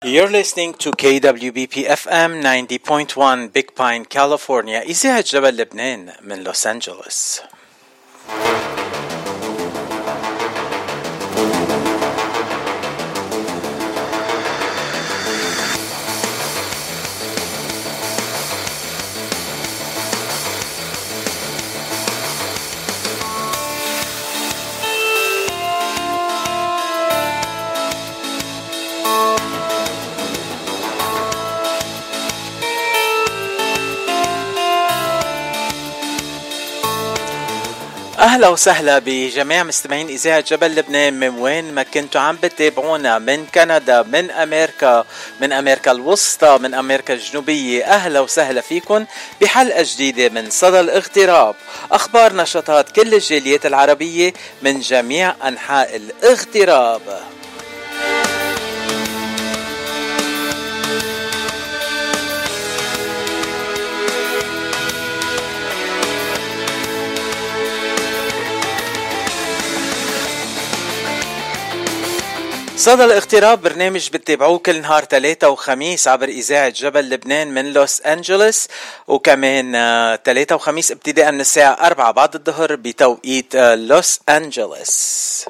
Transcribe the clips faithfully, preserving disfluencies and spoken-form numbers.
You're listening to K W B P F M ninety point one Big Pine, California. إذاعة جبل لبنان من لوس أنجلوس. أهلا وسهلا بجميع مستمعين إذاعة جبل لبنان من وين ما كنتوا عم بتابعونا، من كندا، من أمريكا، من أمريكا الوسطى، من أمريكا الجنوبية. أهلا وسهلا فيكن بحلقة جديدة من صدى الاغتراب، أخبار نشاطات كل الجاليات العربية من جميع أنحاء الاغتراب. صدى الاغتراب برنامج بتتابعوه كل نهار ثلاثة وخميس عبر إذاعة جبل لبنان من لوس أنجلوس، وكمان ثلاثة وخميس ابتداء من الساعة أربعة بعد الظهر بتوقيت لوس أنجلوس.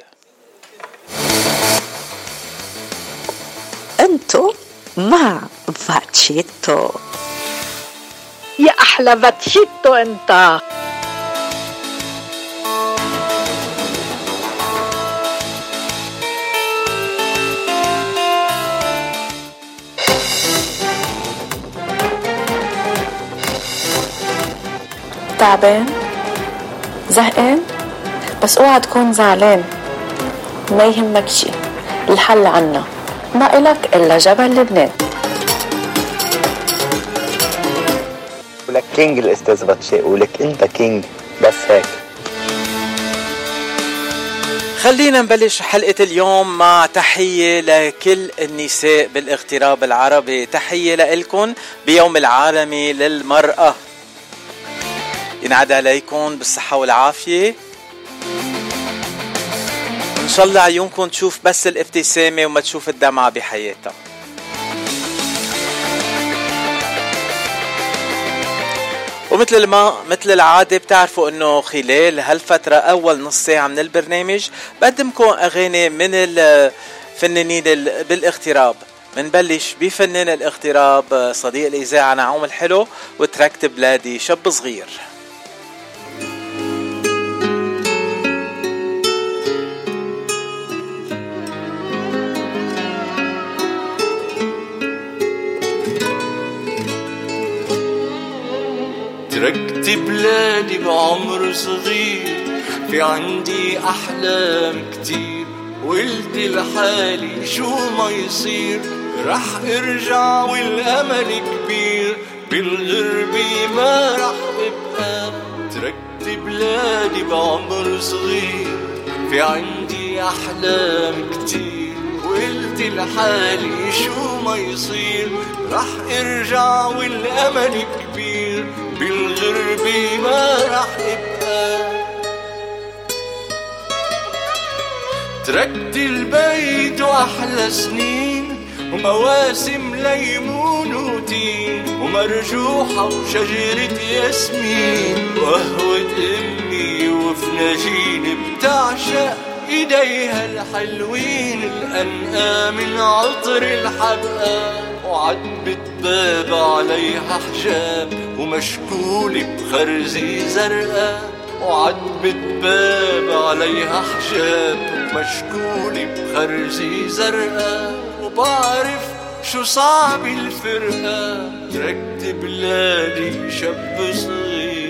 انتو مع فاتشيتو. يا أحلى فاتشيتو انت. تعبان؟ زهقان؟ بس اوعى تكون زعلان، ما يهمك شي، الحل عنا، ما إلك إلا جبل لبنان. ولك كينج الأستاذ باتشي، ولك أنت كينج، بس هيك. خلينا نبلش حلقة اليوم مع تحية لكل النساء بالاغتراب العربي. تحية لإلكن بيوم العالمي للمرأة، ينعاد عليكم بالصحة والعافية. إن شاء الله عيونكم تشوف بس الابتسامة وما تشوف الدمعة بحياتها. ومثل ما مثل العادة بتعرفوا انه خلال هالفترة اول نص ساعة من البرنامج بقدمكم اغاني من الفنانين بالاغتراب. منبلش بفنان الاغتراب صديق الإذاعة نعوم الحلو وتركت بلادي شاب صغير. تركت بلادي بعمر صغير، في عندي أحلام كتير، قلت لحالي شو ما يصير رح ارجع والأمل كبير، بالغربة ما رح ابقى. تركت بلادي بعمر صغير، في عندي أحلام كتير، قلت لحالي شو ما يصير رح ارجع والأمل كبير، بالغربة ما رح ابقى. تركت البيت وأحلى سنين، ومواسم ليمون وتين، ومرجوحة وشجرة ياسمين، وقهوة أمي وفناجين بتعشق إيديها الحلوين، الأنقى من عطر الحبقى، وعتبة باب عليها حجاب ومشكولة بخرزي زرقاء، وعتبة باب عليها حجاب ومشكولة بخرزي زرقاء، وبعرف شو صعب الفرقة. تركت بلادي شاب صغير.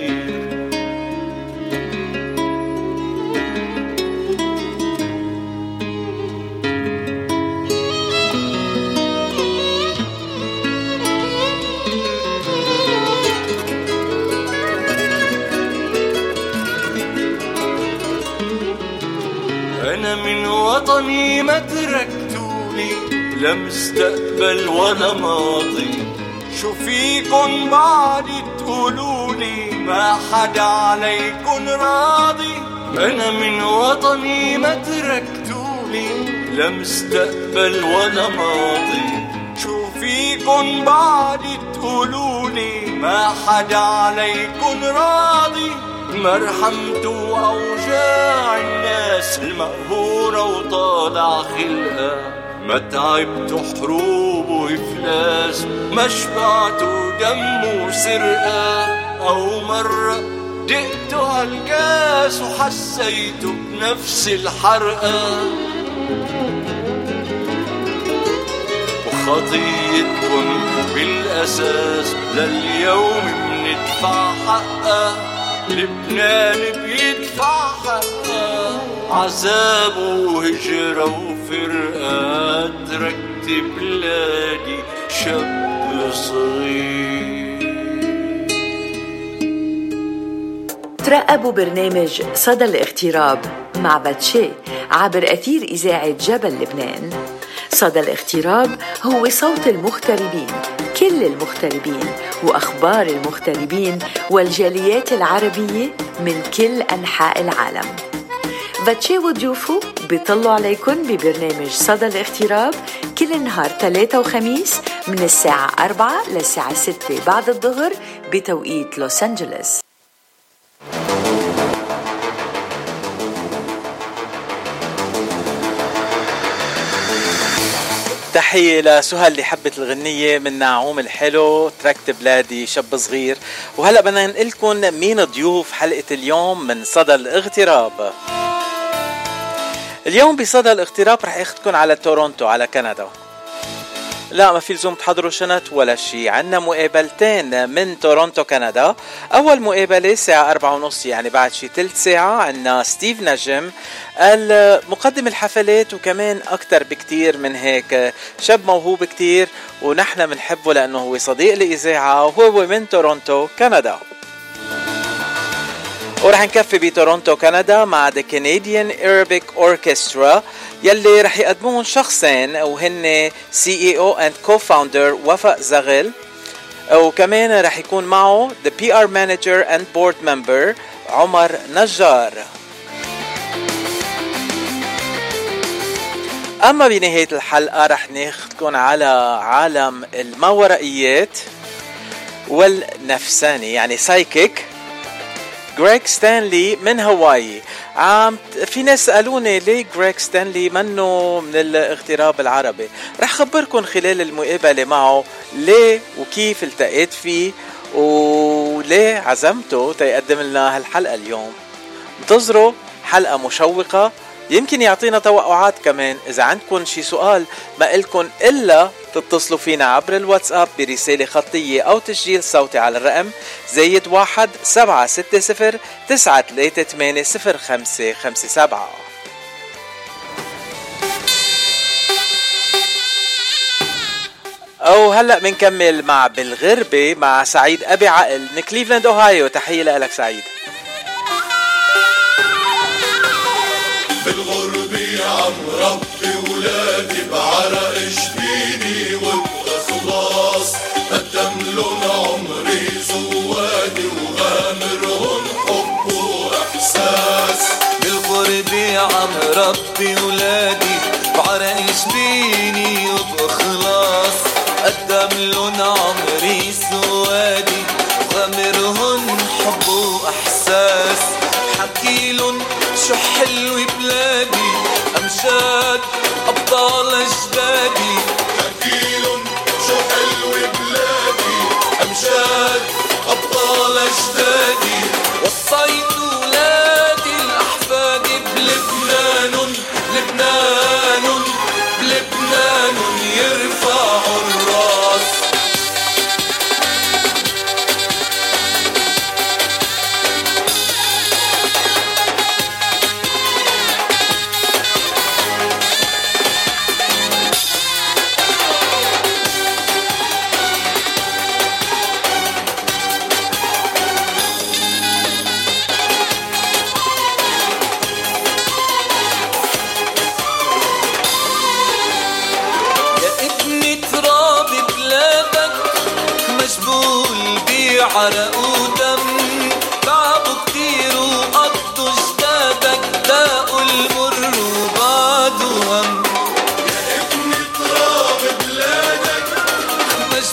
أنا من وطني ما تركتولي، لا مستقبل ولا ماضي، شو فيكن بعد تقولولي ما حدا عليكن راضي. أنا من وطني ما تركتولي، لا مستقبل ولا ماضي، فيكن بعد تقولولي ما حدا عليكن راضي. ما رحمتوا أوجاع الناس المقهورة وطالع خلقها، ما تعبتوا حروب وإفلاس، ما شبعتوا دم وسرقة، أو مرة دقتوا هالكاس وحسيتوا بنفس الحرقة. وخطيتكن بالأساس لليوم بندفع حقها، لبنان بيدفع حقها، عذاب وهجرة وفرقة، تركت بلادي شاب صغير. ترقبوا برنامج صدى الاغتراب مع باتشي عبر أثير إذاعة جبل لبنان. صدى الاغتراب هو صوت المغتربين، كل المغتربين وأخبار المغتربين والجاليات العربية من كل أنحاء العالم. باتشي وضيوفه بيطلوا عليكم ببرنامج صدى الاغتراب كل نهار ثلاثة وخميس من الساعة أربعة للساعة ستة بعد الظهر بتوقيت لوس أنجلوس. تحية لسهى اللي حبت الغنية من نعوم الحلو تركت بلادي شاب صغير. وهلأ بدنا نقلكم مين ضيوف حلقة اليوم من صدى الاغتراب. اليوم بصدى الاغتراب رح اخدكم على تورونتو على كندا. لا ما في لزوم تحضروا شنط ولا شي، عنا مقابلتين من تورونتو كندا. اول مقابلة الساعة أربعة ونص يعني بعد شي تلت ساعة عنا ستيف نجم المقدم الحفلات، وكمان اكتر بكتير من هيك، شاب موهوب كتير ونحن منحبه لانه هو صديق الإذاعة وهو من تورونتو كندا. ورح نكفي بتورونتو كندا مع The Canadian Arabic Orchestra يلي رح يقدمون شخصين وهن سي إي أو and Co-founder وفاء زغل، وكمان رح يكون معه The بي آر Manager and Board Member عمر نجار. أما بنهاية الحلقة رح ناخدكم على عالم الماورائيات والنفساني يعني سايكيك غريغ ستانلي من هاواي. عم في ناس سألوني ليه غريغ ستانلي منه من الاغتراب العربي. رح خبركن خلال المقابلة معه ليه وكيف التقيت فيه وليه عزمته تيقدم لنا هالحلقة اليوم. انتظروا حلقة مشوقة، يمكن يعطينا توقعات كمان. إذا عندكم شي سؤال ما إلكن إلا تتصلوا فينا عبر الواتساب برسالة خطية أو تسجيل صوتي على الرقم زايد واحد سبعة ستة صفر تسعة ثلاثة ثمانية صفر خمسة خمسة سبعة. أو هلأ منكمل مع بالغربة مع سعيد أبي عقل من كليفلاند أوهايو. تحية لك سعيد. بالغربة عم ربي ولادي بعرق جبيني وابقى خلاص قدملن عمري زوادي وغامرهن حب واحساس. بالغربة عم ربي ولادي بعرق جبيني وابقى خلاص قدملن عمري زوادي وغامرهن حب واحساس. حكيلن شو حلو بلادي أمجاد أبطال أجدادي. حكيلن شو حلو بلادي أمجاد أبطال أجدادي. وصيت ولادي الأحفاد بلبنان لبنان بلبنان يرفعوا الراس. عرق ودم تعبوا كتير وقضوا جدادك داقوا المر وبعدوا هم. يا ابن تراب بلادك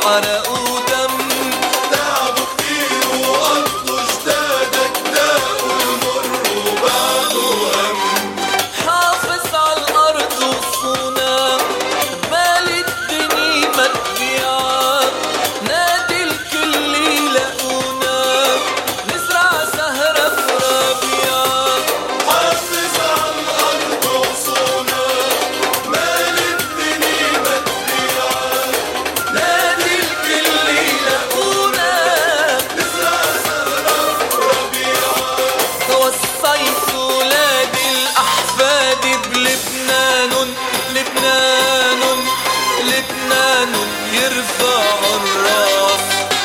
عرق ودم، تعبوا كتير وقضوا جدادك، داقوا المر وبعدوا هم. حافظ عالأرض وصونا مال الدنيا ما تبيعك، نادي الكل يلاقونا نزرع زهرة في ربيعك. حافظ عالأرض وصونا مال الدنيا ما تبيعك، نادي الكل يلاقونا نزرع زهرة في ربيعك. وصيت ولادي الأحفاد بلبنان، لبنان لبنان يرفع الراس.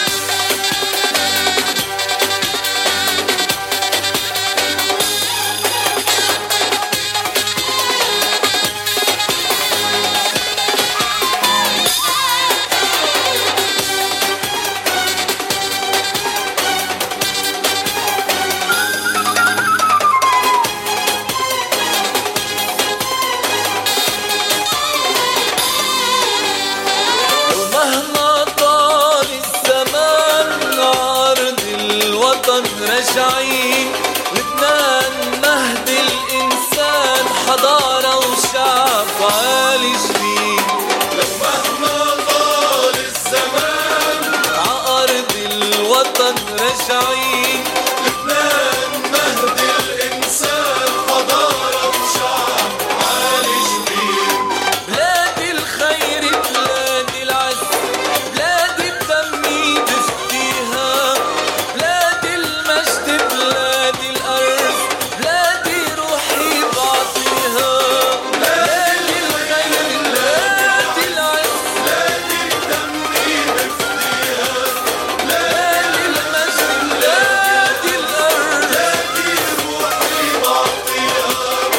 ومهما طال الزمان عرض الوطن راجعين، لبنان مهد الإنسان حضارة وشعب عالي جديد. لو مهما طال الزمان عأرض الوطن راجعين، لبنان مهد الإنسان حضارة وشعب عالي جديد. بلادي الخير بلادي العز، بلادي بدمي بفتيها، بلادي المجد بلادي الأرض، بلادي روحي بعطيها. بلادي الخير بلادي العز، بلادي بدمي بفتيها، بلادي المجد بلادي الأرض، بلادي روحي بعطيها.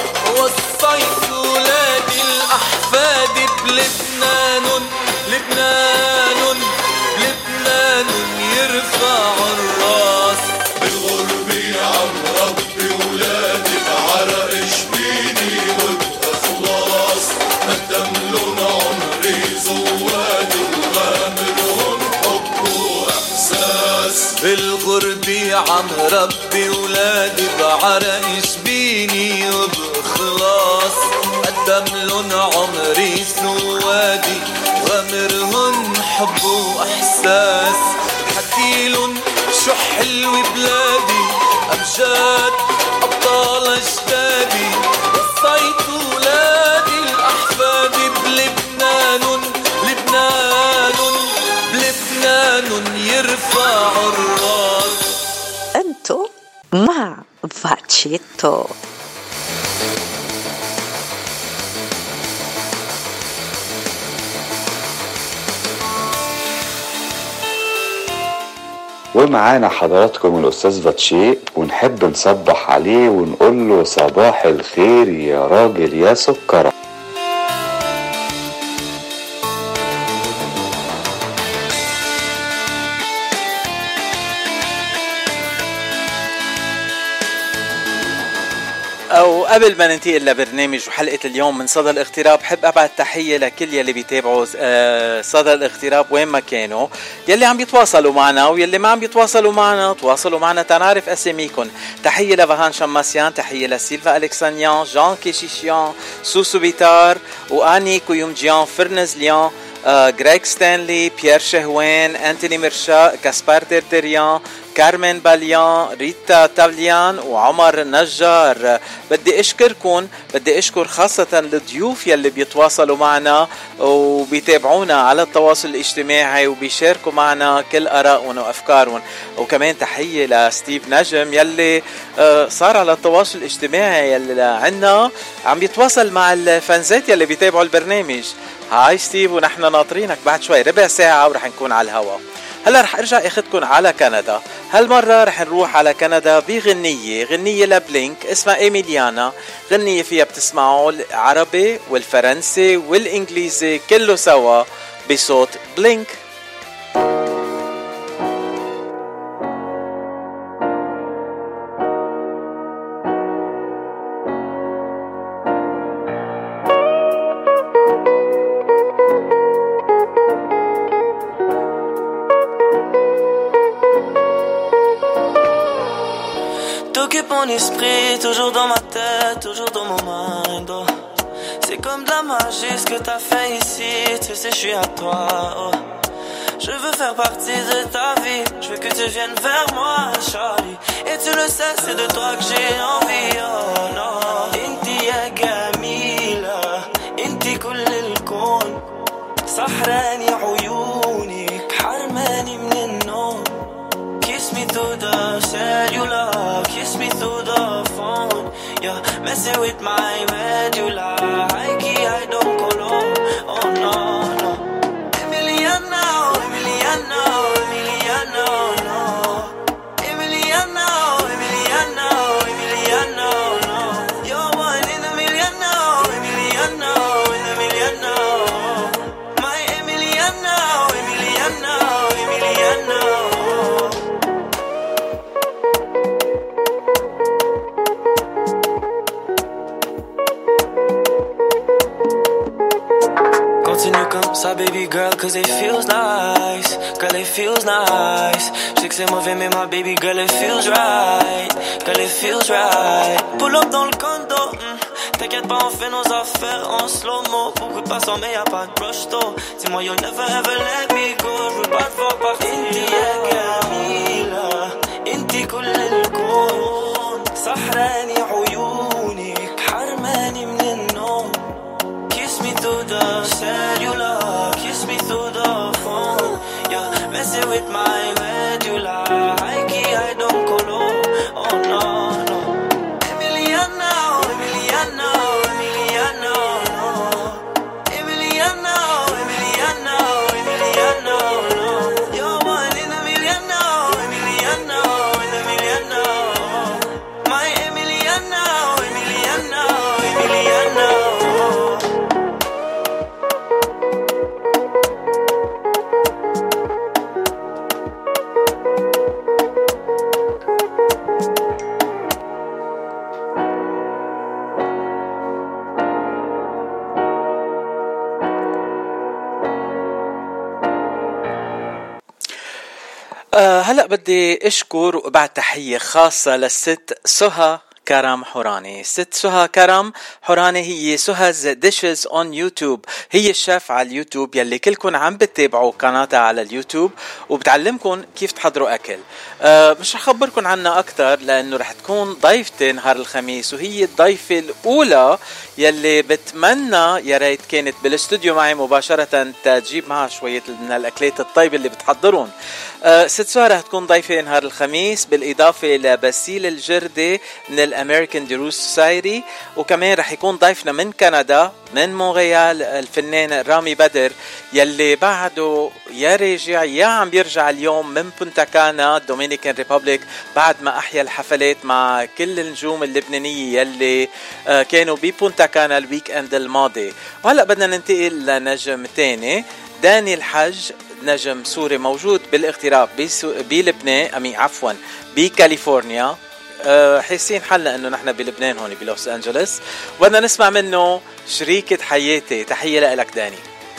وصيت ولادي الأحفاد بلبنان، لبنان لبنان يرفع الراس. بالغربة عم ربي ولادي بعرق جبيني وابقى خلاص، قدملن عمري زوادي وغامرهم حب وإحساس. بالغربة عم ربي ولادي بعرق جبيني وبخلاص، قدملن عمري سوادي غامرهن حب وإحساس. حكيلن شو حلو بلادي، أمجاد أبطال أجدادي. وصيت ولادي الأحفاد بلبنان، لبنان بلبنان يرفع الراس. أنتو مع فاتشيتو. ومعانا حضراتكم الأستاذ فاتشي، ونحب نصبح عليه ونقول له صباح الخير يا راجل يا سكرة. أو قبل ما ننتقل لبرنامج وحلقة اليوم من صدى الاغتراب، حب أبعت تحية لكل يلي بيتابعوا صدى الاغتراب وين ما كانوا، يلي عم بيتواصلوا معنا ويلي ما عم بيتواصلوا معنا. تواصلوا معنا تنعرف أساميكم. تحية لفهان شماسيان، تحية لسيلفا ألكسانيان، جان كيشيشيان، سوسو بيتار، وآني كويومجيان، فرنز ليان، غريك ستانلي، بيير شهوان، أنتوني مرشا، كاسبار تيرتيريان، كارمين باليان، ريتا تافليان، وعمر نجار. بدي اشكركم، بدي اشكر خاصة الضيوف يلي بيتواصلوا معنا وبيتابعونا على التواصل الاجتماعي وبيشاركوا معنا كل آرائهم وأفكارهم. وكمان تحية لستيف نجم يلي صار على التواصل الاجتماعي يلي عنا عم بيتواصل مع الفانزات يلي بيتابعوا البرنامج. هاي ستيف، ونحن ناطرينك بعد شوي ربع ساعة ورح نكون على الهوا. هلا رح ارجع اخدكن على كندا. هالمرة رح نروح على كندا بغنية غنية لبلينك اسمها ايميليانا. غنية فيها بتسمعوا العربي والفرنسي والانجليزي كله سوا بصوت بلينك. mon esprit, toujours dans ma tête, toujours dans mon mind. Oh. C'est comme de la magie ce que t'as fait ici, tu sais je suis à toi. Oh. Je veux faire partie de ta vie, je veux que tu viennes vers moi, Charlie. Et tu le sais, c'est de toi que j'ai envie. Oh non, inti ya gamila, inti kull الكون, سحراني عيونك, حرماني من النوم. Kiss me through the cellular, kiss me through the phone. You're messing with my medulla, I key, I don't go low. Oh no, no. Emiliano, Emiliano, Emiliano, no. Emiliano, Emiliano, Emiliano, no. You're one in a million, no. Emiliano, in a million, no. My Emiliano, Emiliano, Emiliano. Continue comme ça baby girl, cause it feels nice. Girl it feels nice. Je sais que c'est mauvais mais ma baby girl it feels right. Girl it feels right. Pull up dans le condo, mm. T'inquiète pas on fait nos affaires en slow-mo. Beaucoup de passants mais y'a pas de brush though. Dis-moi you'll never ever let me go. Je veux pas te voir partir. Inti ya gamila, inti kull الكون, سحراني عيونك, حرماني من النوم. Kiss me through the cellular, kiss me through the phone. You're messing with my medulla, I key, I don't go low. Oh no, no. Emiliano, Emiliano, Emiliano, no. Emiliano, Emiliano, Emiliano, no. You're one in a million, no. Emiliano, in a million, no. My Emiliano, Emiliano, Emiliano. أه هلأ بدي أشكر وبعد تحية خاصة للست سهى كرم حوراني. ست سهى كرم حوراني هي سهز ديشز اون يوتيوب، هي الشيف على اليوتيوب يلي كلكم عم بتتابعوا قناتها على اليوتيوب وبتعلمكم كيف تحضروا أكل. أه مش رح خبركم عنها أكتر لأنه رح تكون ضيفتي نهار الخميس، وهي الضيفة الأولى يلي بتمنى يا ريت كانت بالاستوديو معي مباشرة تجيب معها شوية من الأكلات الطيبة اللي بتحضرون. أه ست سهى رح تكون ضيفة نهار الخميس بالإضافة لباسيل الجردي من الأمريكان ديروس سوسايتي، وكمان رح يكون ضيفنا من كندا من مونريال الفنان رامي بدر يلي بعده يا راجع يا عم بيرجع اليوم من بونتا كانا دومينيكان ريبابليك بعد ما أحيا الحفلات مع كل النجوم اللبنانية يلي أه كانوا ببونتا كانا الويك اند الماضي. وهلأ بدنا ننتقل لنجم تاني، داني الحج، نجم سوري موجود بالاغتراب بلبنان أمي عفوا بكاليفورنيا. أه حاسين حالنا انه نحن بلبنان هون بلوس انجلوس، وبدنا نسمع منه شريكة حياتي. تحية لك داني.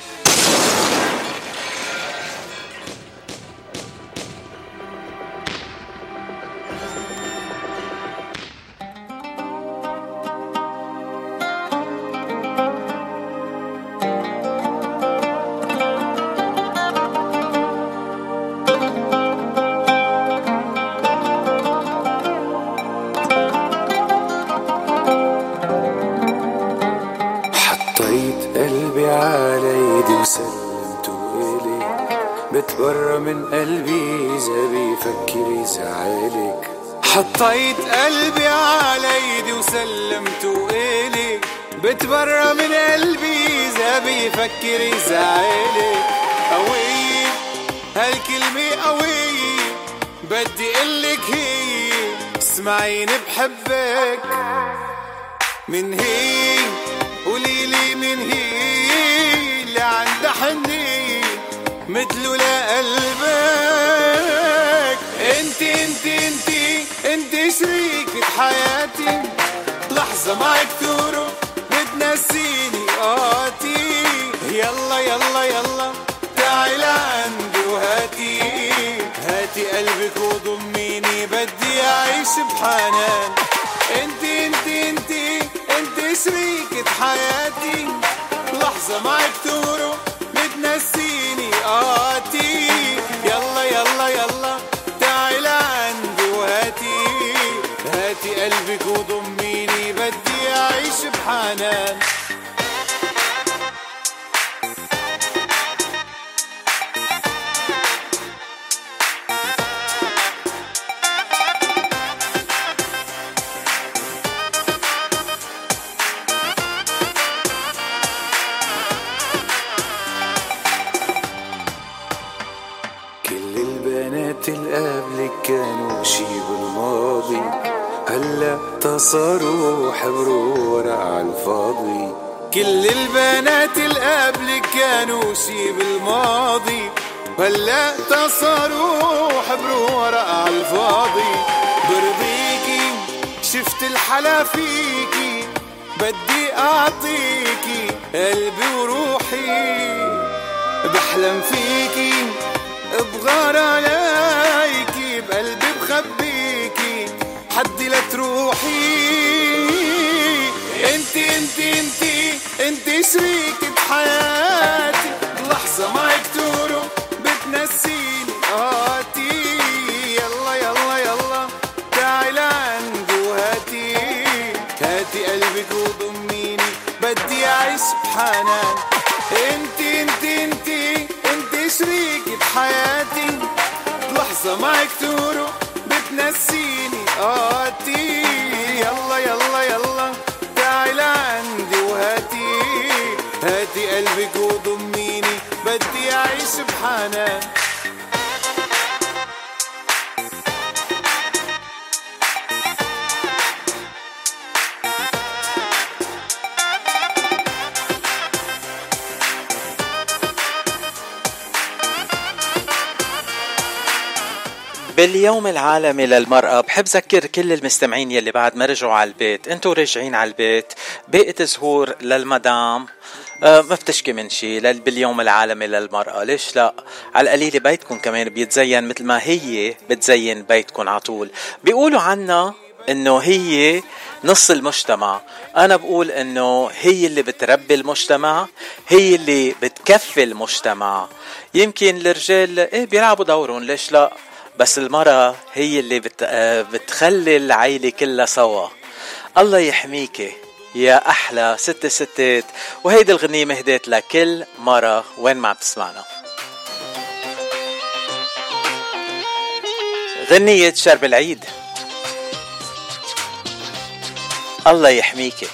بتبرى من قلبي إذا بيفكر يزعلك. حطيت قلبي على ايدي وسلمته إلك، بتبرى من قلبي إذا بيفكر يزعلك. قوية هالكلمة قوية، بدي قلك هي اسمعيني بحبك. من هي قوليلي من هي اللي عندها حنية مثله لقلبك. انت انت انت انت شريكة حياتي، لحظة معك تروح بتنسيني قاتي. يلا يلا يلا تعي لعندي وهاتي هاتي قلبك وضميني، بدي أعيش بحنان انت انت انت انت شريكة حياتي، لحظة معك تمرق بتنسيني قاتي. يلا يلا يلا تعي لعندي وهاتي، هاتي قلبك وضميني بدي اعيش بحنان. قبلك كانوا شي بالماضي، هلا تصاروا حبروا ورق عالفاضي. كل البنات اللي قبلك كانوا شي بالماضي، هلا تصاروا حبروا ورق عالفاضي. برضيكي شفت الحلا فيكي، بدي اعطيكي قلبي وروحي. بحلم فيكي بغار عليكي، بقلبي بخبيكي حدي لا تروحي. انت انت انت انت شريكة حياتي، لحظة معك تورو بتنسيني قاتي. يلا يلا يلا تعي لعندي وهاتي، هاتي قلبك وضميني بدي اعيش بحنان. انت انت انت انت شريكة حياتي، لحظة معك تورو بتنسيني قاتي. يلا يلا يلا تعي لعندي وهاتي، هاتي قلبك وضميني بدي اعيش بحنان. باليوم العالمي للمرأة بحب ذكر كل المستمعين يلي بعد ما رجعوا على البيت، انتوا راجعين على البيت بقت زهور للمدام أه ما بتشكي من شي باليوم العالمي للمرأة. ليش لا؟ على القليل بيتكم كمان بيتزين مثل ما هي بتزين بيتكم عطول. بيقولوا عنا انه هي نص المجتمع، انا بقول انه هي اللي بتربي المجتمع، هي اللي بتكفي المجتمع. يمكن الرجال ايه بيلعبوا دورهم، ليش لا؟ بس المرأة هي اللي بت... بتخلي العائلة كلها سوا. الله يحميكي يا أحلى ست ستات. وهيدي الغنية مهديت لكل مرة وين ما بتسمعنا. غنية شرب العيد. الله يحميكي.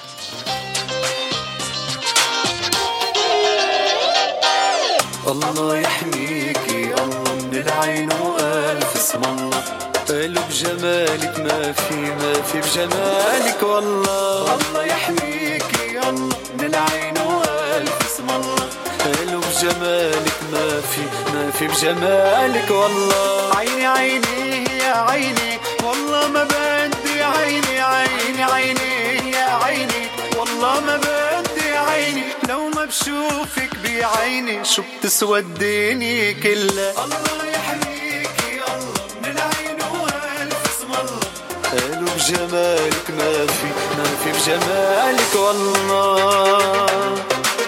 الله يحميكي الله من العين وألف اسم الله. قالوا بجمالك ما في ما في بجمالك والله. الله يحميكي الله من العين وألف اسم الله. قالوا بجمالك ما في ما في بجمالك والله. عيني عيني يا عيني والله ما بدي عيني عيني عيني يا عيني والله ما بدي عيني. لو ما بشوفك بعيني شو بتسوى الدنيا كلها. الله يحميكي الله من العين والف اسم الله. قالوا بجمالك ما في ما في بجمالك والله.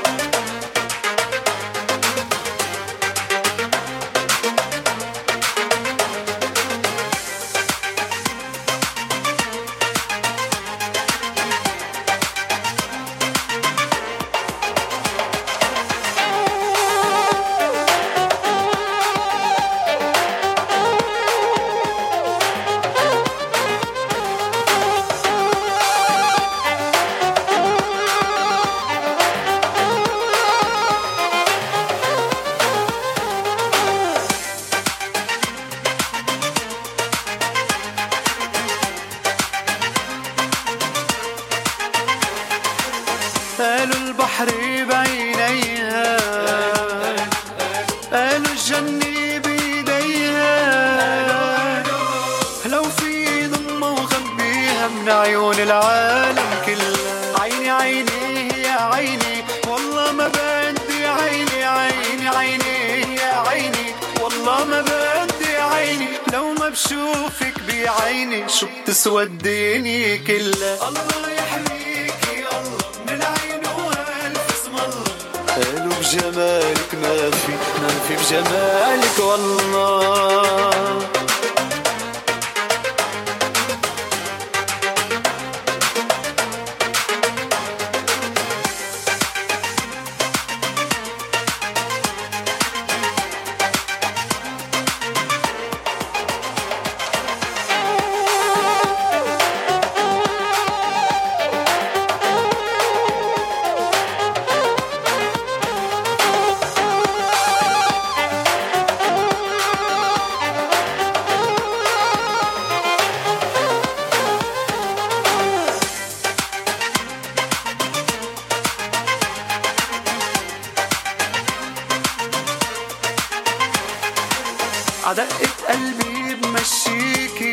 قالوا البحر بعينيها، قالوا الجنة بيديها. لو في ضمة وخبيها من عيون العالم كلها. عيني عيني يا عيني والله ما بدي عيني عيني عيني يا عيني والله ما بدي عيني. لو ما بشوفك بعيني شو بتسوى الدنيا كلها. الله يحميكي الله من العين والف اسم الله. قالوا بجمالك ما في ما في بجمالك والله. عدقة قلبي بمشيكي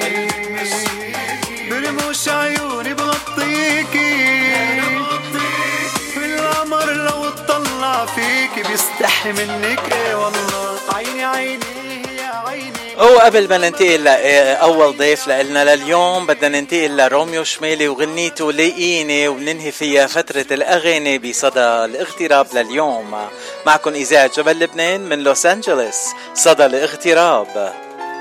برموش عيوني بغطيكي. في القمر لو اطلع فيكي بيستحي منك ايه والله. عيني عيني يا عيني. وقبل ما ننتقل لأول ضيف لنا لليوم بدنا ننتقل لروميو شمالي وغنيته لاقيني، وننهي فيها فترة الأغاني بصدى الاغتراب لليوم. معكم إذاعة جبل لبنان من لوس أنجلوس، صدى الاغتراب.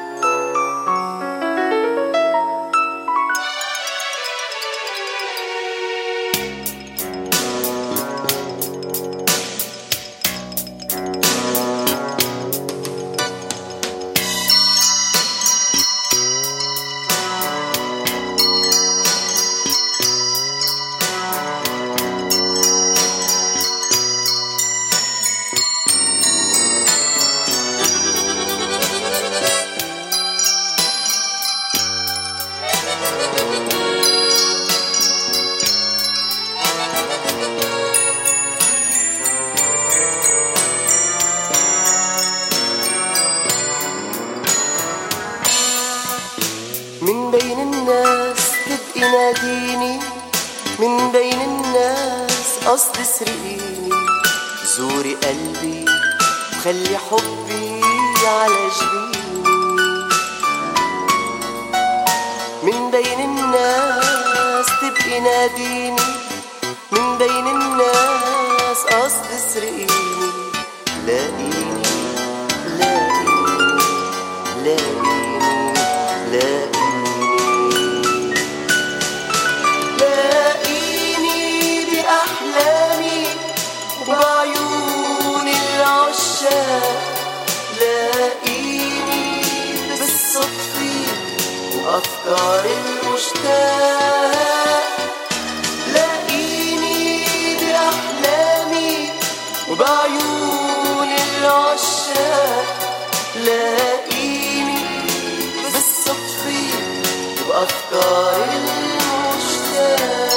من بين الناس تبقي ناديني، من بين الناس قصد سرقيني. زوري قلبي وخلي حبي على جبيني. من بين الناس تبقي ناديني، من بين الناس قصد سرقيني. لاقيني لاقيني لاقيني لاقيني بأحلامي وبعيون العشاق. لاقيني بالصدفة وأفكار المشتاق. لاقيني بأحلامي وبعيون العشاق. لاقيني بالصدفة وأفكار المشتاق.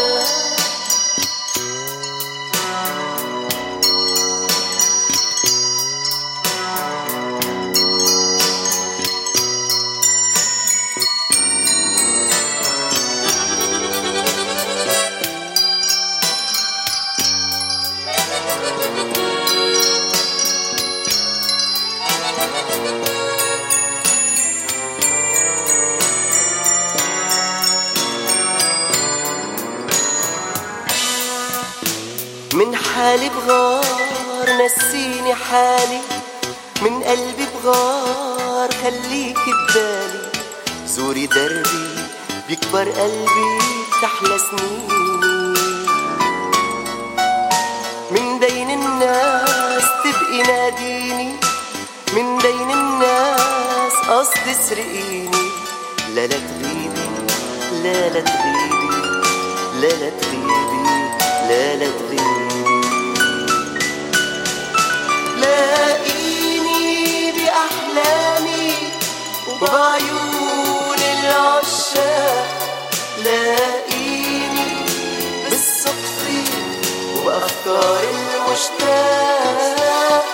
من حالي بغار نسيني حالي، من قلبي بغار خليكي ببالي. زوري دربي بيكبر قلبي تحلى سنيني. من بين الناس تبقي ناديني، من بين الناس قصد سرقيني. لا لا تغيبي لا لا تغيبي لا لا تغيبي لا لا تغيبي. لاقيني بأحلامي وبعيون العشاق. لاقيني بالصدفة وأفكار المشتاق.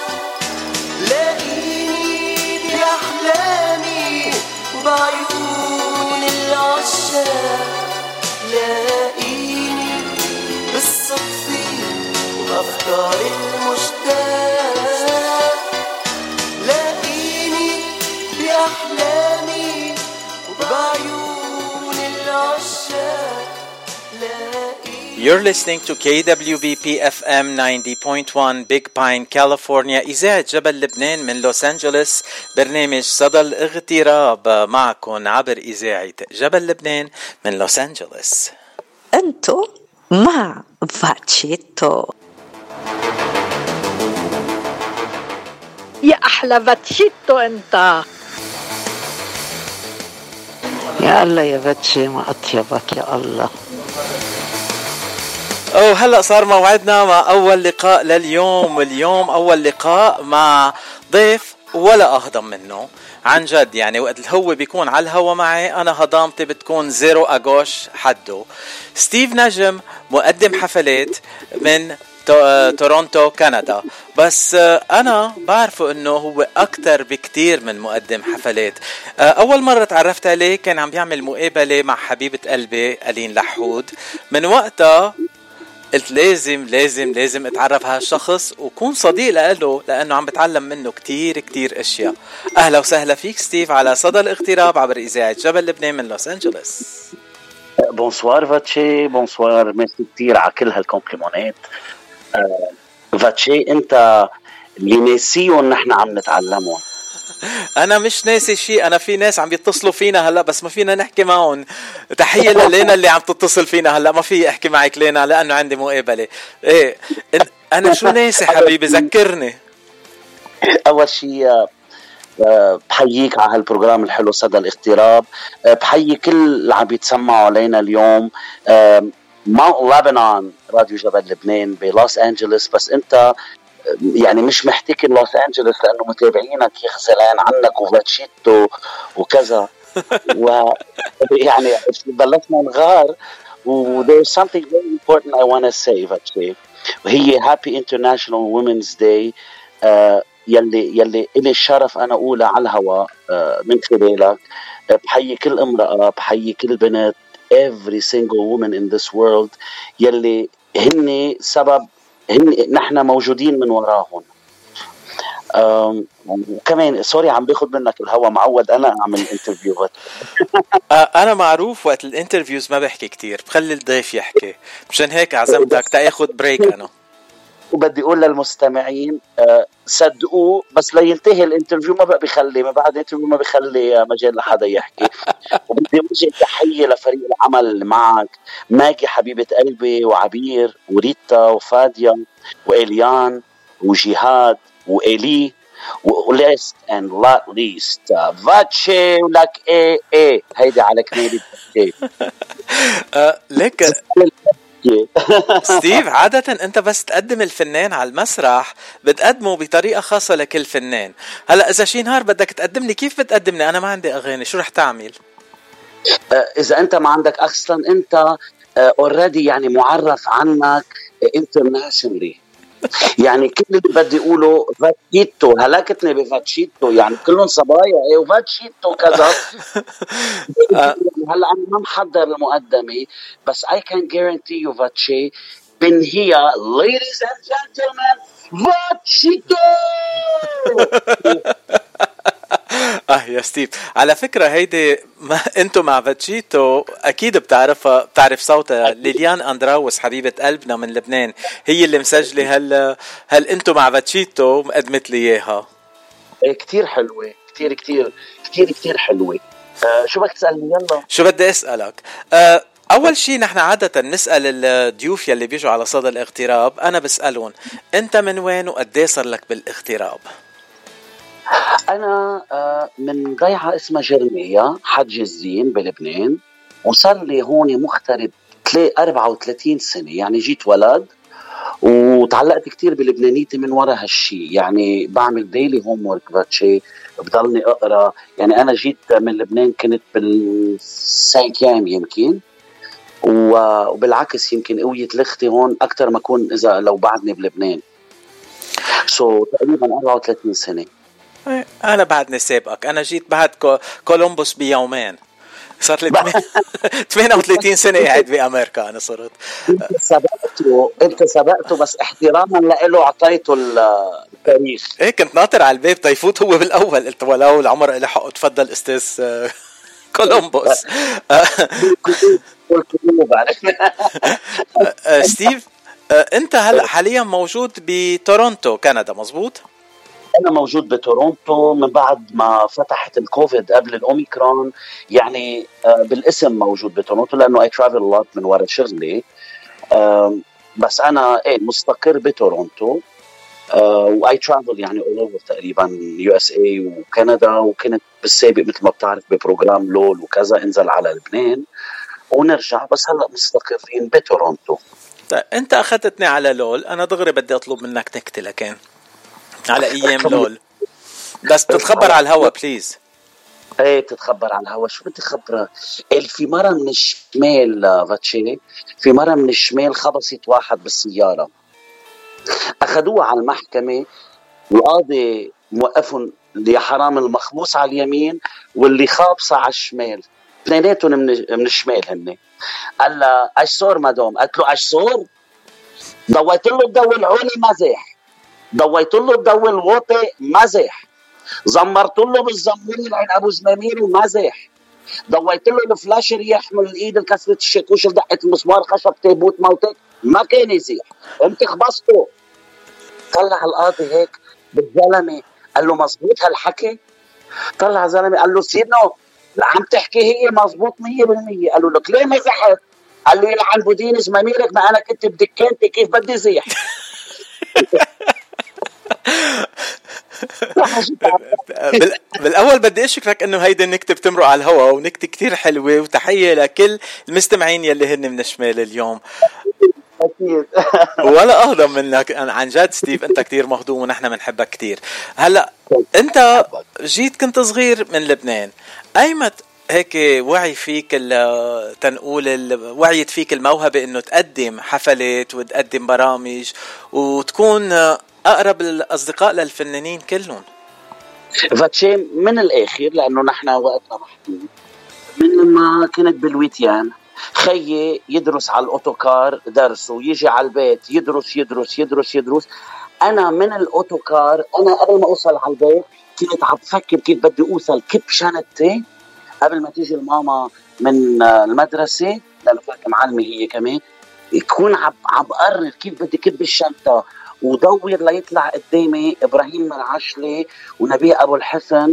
لاقيني بأحلامي وبعيون العشاق. لاقيني بالصدفة وأفكار المشتاق. لاقيني بأحلامي You're listening to K W B P F M ninety point one Big Pine, California. إذاعة جبل لبنان من لوس أنجلوس. برنامج صدى الاغتراب معكم عبر إذاعة جبل لبنان من لوس أنجلوس. أنتو مع فاتشيتو. يا أحلى فاتشيتو أنت. يا الله يا فاتشي ما أطيبك يا الله. أو هلأ صار موعدنا مع أول لقاء لليوم. واليوم أول لقاء مع ضيف ولا أهضم منه عن جد. يعني وقت هو بيكون على الهوا معي أنا هضامتي بتكون زيرو أغوش حده. ستيف نجم مقدم حفلات من تورونتو كندا، بس أنا بعرفه أنه هو أكتر بكتير من مقدم حفلات. أول مرة تعرفت عليه كان عم بيعمل مقابلة مع حبيبة قلبي ألين لحود. من وقتها قلت لازم لازم لازم اتعرف على هالشخص وكون صديق له، لأنه عم بتعلم منه كتير كتير أشياء. أهلا وسهلا فيك ستيف على صدى الاغتراب عبر إذاعة جبل لبنان من لوس أنجلوس. بونسوار فاتشي، بونسوار، ميرسي كتير على كل هالكومبليمونات. آه فاتشي انت اللي ناسيهم نحن عم نتعلمهم. انا مش ناسي شيء، انا في ناس عم بيتصلوا فينا هلا بس ما فينا نحكي معهم. تحيه للينا اللي عم تتصل فينا هلا، ما في احكي معك لينا لانه عندي مقابله. ايه انا شو ناسي حبيبي ذكرني. اول شيء بحييك على هالبروجرام الحلو صدى الاغتراب. بحيي كل اللي عم بيتسمعوا علينا اليوم. ماونت لبنان راديو جبل لبنان بلوس أنجلوس، بس أنت يعني مش محتكر لوس أنجلوس لأنه متابعينك يخزلان عنك وفاتشيتو وكذا و يعني بلشنا نغار. و there's something very important I want to say فاتشي، وهي Happy International Women's Day. uh, يلي يلي إلي الشرف أنا أقولها على الهواء uh, من خلالك. uh, بحيي كل امرأة، بحيي كل بنت، every single woman in this world يلي هن سبب، هن نحن موجودين من وراهم. وكمان سوري عم باخد منك الهوا، معود انا اعمل انترفيوهات. انا معروف وقت الانترفيوز ما بحكي كتير، بخلي الضيف يحكي، مشان هيك عزمتك تاخد بريك. انا وبدي اقول للمستمعين أه صدقوه، بس لينتهي الانترفيو ما بقى بيخلي، ما بعد الانترفيو ما بيخلي مجال لحدا يحكي. وبدي وجه تحية لفريق العمل اللي معك، ماجي حبيبة قلبي، وعبير، وريتا، وفاديا، وإليان، وجهاد، وإلي، وليست and not least فاتشي ولك ايه ايه. هيدي على كنيدي فاتشي. لك ستيف، عادة انت بس تقدم الفنان على المسرح بتقدمه بطريقة خاصة لكل فنان. هلأ اذا شي نهار بدك تقدمني كيف بتقدمني؟ انا ما عندي اغاني، شو رح تعمل؟ اذا انت ما عندك اصلا، انت اوريدي يعني معرف عنك internationally. يعني كل اللي بدي اقوله فاتشيتو، هلكتني بفاتشيتو، يعني كلهم صبايا ايه وفاتشيتو كذا. هلا انا ما محضر المقدمه، بس I can guarantee you فاتشي من هي ladies and gentlemen فاتشيتو. اه يا ستيف، على فكرة هيدي ما انتو مع فاتشيتو اكيد بتعرفها، بتعرف صوتها. ليليان اندراوس حبيبة قلبنا من لبنان هي اللي مسجلة هل هل انتو مع فاتشيتو مقدمت لي اياها. كتير حلوة، كتير كتير كتير كتير حلوة. آه شو بدك تسألني؟ يلا شو بدي اسألك. آه اول شيء نحن عادة نسأل الضيوف يلي بيجوا على صدى الاغتراب، انا بسألهم انت من وين وقديه صار لك بالاغتراب؟ أنا من ضيعة اسمها جرمية حج الزين بلبنان، وصار لي هون مغترب أربعة وثلاثين سنة. يعني جيت ولد وتعلقت كتير بلبنانيتي من وراء هالشي. يعني بعمل ديلي هوم ورك باتشي، بضلني أقرأ. يعني أنا جيت من لبنان كنت بالسايكام يمكن، وبالعكس يمكن قوية لختي هون أكتر ما أكون إذا لو بعدني بلبنان. سو so, تقريبا أربعة وثلاثين سنة. أنا بعدني سابقك، أنا جيت بعد كولومبوس بيومين، صار لي ثمانية وثلاثين سنة قاعد بأمريكا. أنا صرت أنت سبقته، أنت سبقته بس احتراما لإله أعطيته التاريخ. إيه كنت ناطر على الباب تيفوت هو بالأول، قلت ولو العمر إلي حق تفضل أستاذ كولومبوس. قلت له بعرفنا. ستيف، انت هلا حاليا موجود بتورونتو كندا، مظبوط؟ انا موجود بتورونتو من بعد ما فتحت الكوفيد قبل الاوميكرون، يعني بالاسم موجود بتورونتو لانه اي ترافل لوت من ورا شغلي. بس انا ايه مستقر بتورونتو، واي ترافل يعني اول اوفر تقريبا يو اس اي وكندا، وكنت بالسابق مثل ما بتعرف ببروجرام لول وكذا انزل على لبنان ونرجع، بس هلا مستقرين بتورونتو. طيب انت اخذتني على لول، انا دغري بدي اطلب منك نكته لكن على ايام لول، بس تتخبر على الهوا بليز. ايه تتخبر على الهوا. شو بدي خبرك؟ في مرة من الشمال فاتشي، في مرة من الشمال خبصت واحد بالسيارة، اخذوه على المحكمة، القاضي موقفهم يا حرام المخبوص على اليمين واللي خابصة على الشمال، اثنيناتهم من من الشمال هن. قال لها ايش صار مدام؟ قالت له ايش صار؟ ضويت له الضوء العلي مزح، ضويت له الضوء الواطي مزح، زمرت له بالزمور عين ابو زمامير ومزح، ضويت له الفلاشر يحمل الايد الكسرة الشاكوش دقة المسمار خشب تابوت موتك، ما كان يزيح، قمت خبصته. طلع القاضي هيك بالزلمه قال له مزبوط هالحكي؟ طلع زلمه قال له سيدنا عم تحكي هي مزبوط مية بالمية. قال له لك ليه مزحت؟ قال له يلعن بودين زماميرك، ما انا كنت بدكانتي كيف بدي زيح. بالاول بدي اشكرك انه هيدا النكته بتمرق على الهواء، ونكته كتير حلوه، وتحيه لكل المستمعين يلي هن من الشمال اليوم. اكيد. ولا اهضم منك عن جد ستيف، انت كتير مهضوم ونحن بنحبك كتير. هلا انت جيت كنت صغير من لبنان، ايمت هيك وعي فيك تنقول وعيت فيك الموهبه انه تقدم حفلات وتقدم برامج وتكون اقرب الاصدقاء للفنانين كلهم؟ فاتشي من الاخر لانه نحن وقتنا محدود، من لما كنت بالويتيان خيي يدرس على الاوتوكار درس، ويجي على البيت يدرس يدرس يدرس يدرس. انا من الاوتوكار انا قبل ما اوصل على البيت كنت عم بفكر كيف بدي اوصل كب شنطتي قبل ما تيجي الماما من المدرسه، لانه كانت معلمه هي كمان، يكون عم عم بقرر كيف بدي كب الشنطه ودور ليطلع قدامي ابراهيم مرعشلي ونبيه ابو الحسن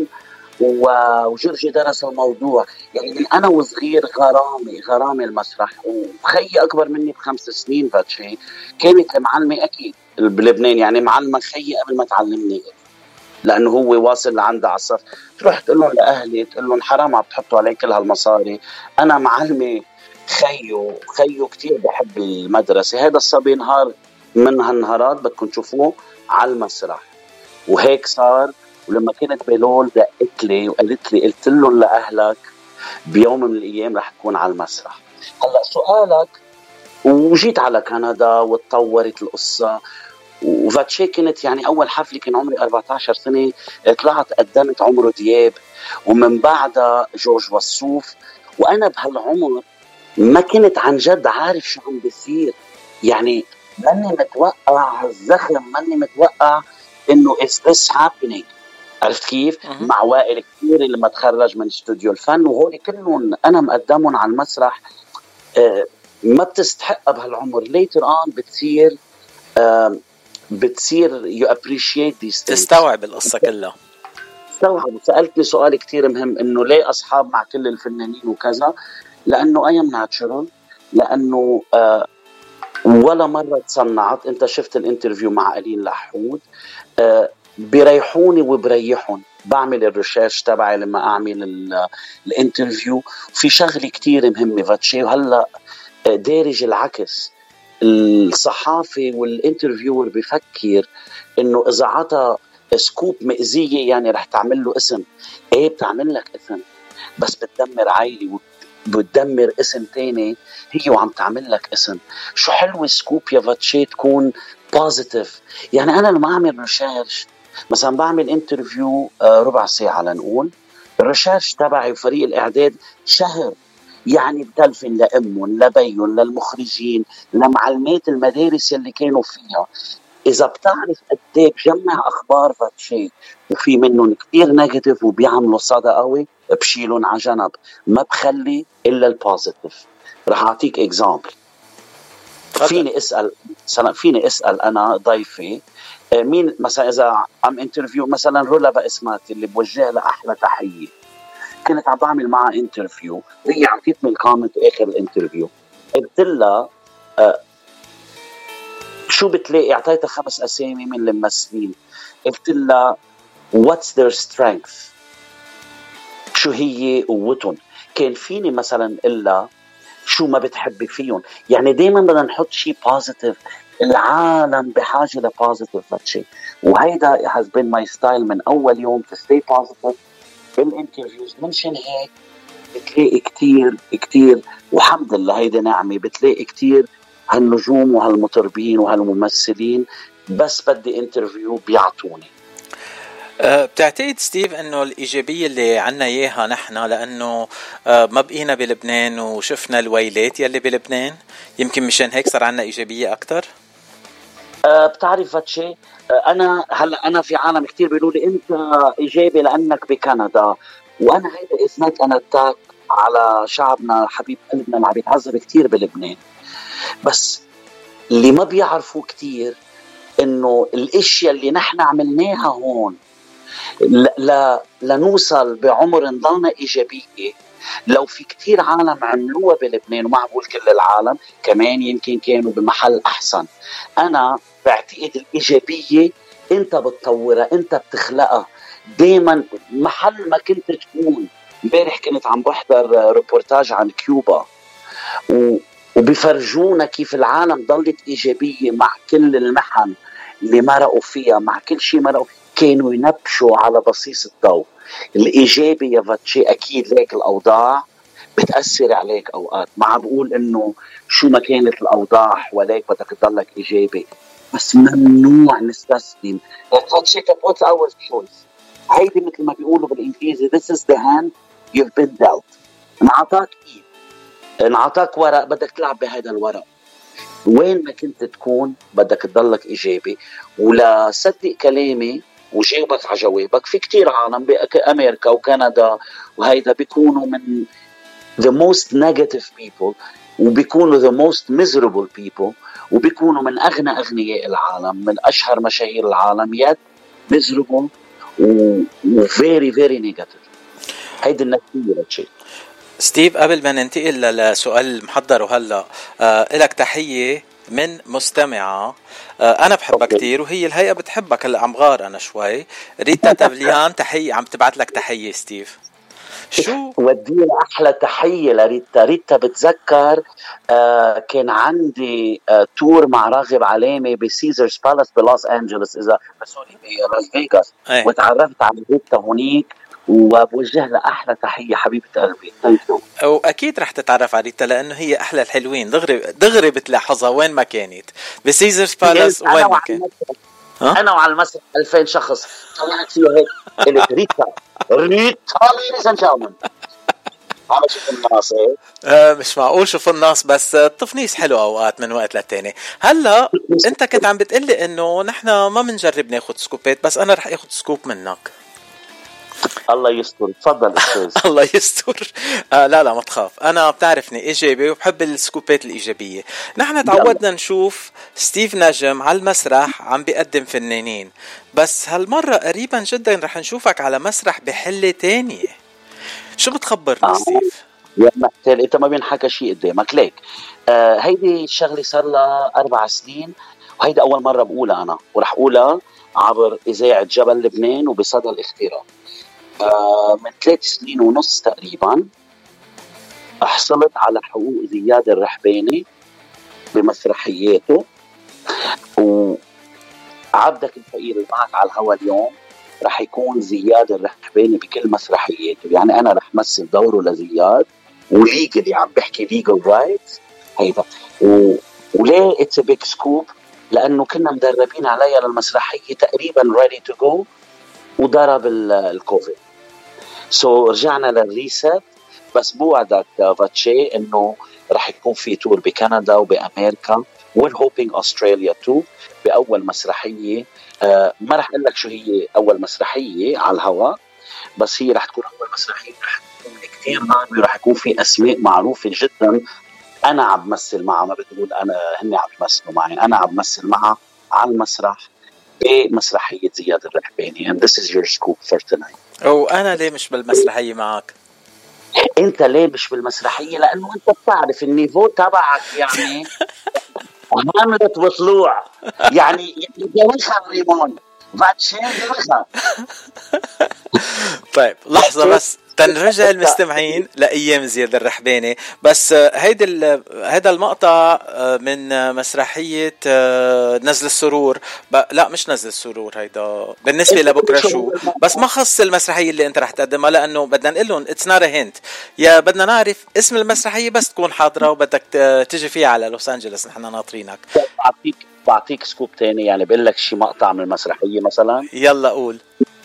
وجرجي درس الموضوع. يعني من انا وصغير غرامي غرامي المسرح. وخيي اكبر مني بخمس سنين فاتشي، كانت المعلمه اكيد بلبنان يعني معلمه خيي قبل ما تعلمني، لانه هو واصل لعندها على الصف. تروح تقول لهم لاهلي تقول لهم حرام عم تحطوا علي كل هالمصاري، انا معلمه خيو خيو كتير بحب المدرسه. هذا الصبي نهار من هالنهارات بدكم تشوفوه على المسرح، وهيك صار. ولما كنت بلول دقت لي وقالت لي قلت لهم لاهلك بيوم من الايام رح تكون على المسرح. هلا سؤالك، وجيت على كندا وتطورت القصه. وفاتشي كنت يعني اول حفله كان عمري أربعة عشر سنه، طلعت قدمت عمرو دياب ومن بعدها جورج وسوف. وانا بهالعمر ما كنت عن جد عارف شو عم بيصير، يعني ماني متوقع هالزخم، ماني متوقع انه is this happening. عرفت كيف؟ مع وائل كثير لما تخرج من استوديو الفن، وهول كلهم انا مقدمهم على المسرح. آه ما بتستحق بهالعمر، later on بتصير آه بتصير you appreciate these things، تستوعب القصة كلها. تستوعب. وسألتني سؤال كتير مهم انه ليه اصحاب مع كل الفنانين وكذا، لانه I am natural، لانه آه ولا مرة تصنعت. انت شفت الانترفيو مع ألين لحود، آه بريحوني وبريحون، بعمل الريسيرش تبعي لما اعمل الانترفيو. في شغله كتير مهمه فاتشي، وهلا دارج العكس. الصحافي والانترفيور بفكر انه اذا عطى سكوب مأزية يعني رح تعمل له اسم. ايه بتعمل لك اسم، بس بتدمر عائلي وبتدمر اسم تاني هي وعم تعمل لك اسم. شو حلو سكوب يا فاتشي تكون بوزيتيف. يعني انا لما اعمل ريسيرش مثلا بعمل انترفيو ربع ساعة لنقول، الريسيرش تبعي وفريق الاعداد شهر، يعني بتلفن لأمهم لبيهم للمخرجين لمعلمات المدارس اللي كانوا فيها. إذا بتعرف قديه بجمع أخبار فاتشي وفي منهم كتير نيجاتيف وبيعملوا صدى قوي، بشيلون على جنب، ما بخلي إلا البوزيتيف. رح اعطيك اكزامبل. فيني اسال فيني اسال انا ضيفي مين مثلا، اذا عم انترفيو مثلا رولا باسمات اللي بوجه لها احلى تحيه، كنت عم بعمل معها انترفيو وهي عطيتني الكومنت اخر الانترفيو، قلت لها آه شو بتلاقي، اعطيتها خمس اسامي من الممثلين، قلت لها what's their strength، شو هي قوتهم. كان فيني مثلا الا شو ما بتحبي فيهم. يعني دايما بدنا نحط شيء بوزيتيف، العالم بحاجه لبوزيتيف شيء، وهيدا has been my style من اول يوم to stay positive بالانترفيوز. منشان هيك بتلاقي كتير كتير، وحمد لله هيدا نعمه، بتلاقي كتير هالنجوم وهالمطربين وهالممثلين بس بدي انترفيو بيعطوني. أه بتعتقد ستيف انه الايجابيه اللي عنا اياها نحن لانه أه ما بقينا بلبنان وشفنا الويلات يلي بلبنان، يمكن مشان هيك صار عنا ايجابيه اكتر؟ أه بتعرف هالشي، أه انا هلا انا في عالم كتير بيقولوا لي انت ايجابي لانك بكندا، وانا هيدا اسمك انا اتاك على شعبنا حبيب قلبنا اللي عم يتعذب كتير بلبنان. بس اللي ما بيعرفوا كتير انه الاشياء اللي نحن عملناها هون لا لنوصل بعمر نضلنا إيجابية، لو في كتير عالم عملوها بلبنان، وما بقول كل العالم، كمان يمكن كانوا بمحل أحسن. أنا بعتقد الإيجابية أنت بتطورها، أنت بتخلقها دايما محل ما كنت تكون. امبارح كنت عم بحضر ريبورتاج عن كيوبا وبيفرجونا كيف العالم ضلت إيجابية مع كل المحن اللي مرقوا فيها، مع كل شيء مرقوا، كانوا ينبشوا على بصيص الضوء. الإيجابي يا فاتشي أكيد ليك الأوضاع بتأثر عليك أوقات، ما بقول إنه شو ما كانت الأوضاع وليك بدك تضلك إيجابي، بس ممنوع نستسلم. فاتشي what's our choice، هيدي مثل ما بيقولوا بالإنجليزي this is the hand you've been dealt. انعطاك إيد، انعطاك ورق، بدك تلعب بهذا الورق. وين ما كنت تكون بدك تضلك إيجابي. ولا صدق كلامي وجاوبك على جوابك، في كتير عالم بأمريكا وكندا وهيدا بيكونوا من the most negative people، وبيكونوا the most miserable people، وبيكونوا من أغنى أغنياء العالم، من أشهر مشاهير العالم، يد miserable و very very negative. هيدا النتيجة للشيء. ستيف قبل ما ننتقل لسؤال محضر وهلا آه لك تحية من مستمعة آه أنا بحبها كتير وهي الهيئة بتحبك. هلا عم غار أنا شوي. ريتا تافليان تحية عم تبعت لك تحية ستيف. شو ودي أحلى تحية لريتا. ريتا بتذكر آه كان عندي آه تور مع راغب علامة بسيزرز بالاس بلوس أنجلوس، إذا سوري بلاس فيغاس، وتعرفت على ريتا هونيك وبوجه لها أحلى تحية حبيبة قلبي. وأكيد رح تتعرف على ريتا لأنه هي أحلى الحلوين، دغري دغري بتلاحظها وين ما كانت بسيزرز بالاس وين ما كانت. أنا وعلى المسرح ألفين شخص طلعت فيه هيك قلت ريتا ريتا ليديز اند جنتلمان. عم شوف الناس آه مش معقول شوف الناس، بس التفنيس حلو أوقات من وقت للتاني. هلا أنت كنت عم بتقلي إنه نحن ما منجرب ناخد سكوبات، بس أنا رح أخد سكوب منك. الله يستر، تفضل استاذ. الله يستر. آه لا لا ما تخاف، انا بتعرفني ايجابي وبحب السكوبات الايجابيه. نحن تعودنا نشوف ستيف نجم على المسرح عم بيقدم فنانين، بس هالمره قريبا جدا رح نشوفك على مسرح بحله تانية. شو بتخبرنا آه. ستيف؟ يا محتال انت ما بينحكى شيء قدامك ليك. آه هيدي الشغله صار لها اربع سنين، وهيدي اول مره بقولها انا، ورح اقولها عبر اذاعه جبل لبنان وبصدى الاختراع. آه من ثلاث سنين ونص تقريبا حصلت على حقوق زياد الرحباني بمسرحياته، وعبدك الفقير اللي معك على الهوا اليوم رح يكون زياد الرحباني بكل مسرحياته. يعني انا رح مثل دوره لزياد، وليجلي عم بحكي ليجل رايتس هيدا. وليه اتس بيج سكوب؟ لانه كنا مدربين عليها للمسرحيه تقريبا ريدي تو جو، وضرب الكوفيد. سو so, رجعنا للريست. بس بوعدك فاتشي انه رح يكون في تور بكندا وبامريكا والهوبينج استراليا تو باول مسرحيه. آه ما رح اقول لك شو هي اول مسرحيه على الهواء، بس هي رح تكون اول مسرحيه رح تكون كثير ناعمه، ورح يكون في اسماء معروفه جدا انا عم بمثل معها، ما بتقول انا هن عم يمثلوا معي، انا عم بمثل معها على المسرح بمسرحيه زياد الرحباني. and this is your scoop for tonight. وانا ليه مش بالمسرحيه معك؟ انت ليه مش بالمسرحيه؟ لانه انت بتعرف النيفو تبعك يعني عملت بطلوع يعني جوخها ريمون فاتشي جوخها. طيب لحظه بس تنرجع المستمعين لايام زياد الرحباني. بس هيدا هذا المقطع من مسرحيه نزل السرور، لا مش نزل السرور، هيدا بالنسبه لبكره شو، بس ما خص المسرحيه اللي انت رح تقدمها، لانه بدنا نقول لهم اتس نوت ا هنت، يا بدنا نعرف اسم المسرحيه بس تكون حاضره وبدك تيجي فيها على لوس انجلوس، نحن ناطرينك. بعطيك بعطيك سكوب تاني، يعني بقول لك شي مقطع من المسرحيه مثلا. يلا قول.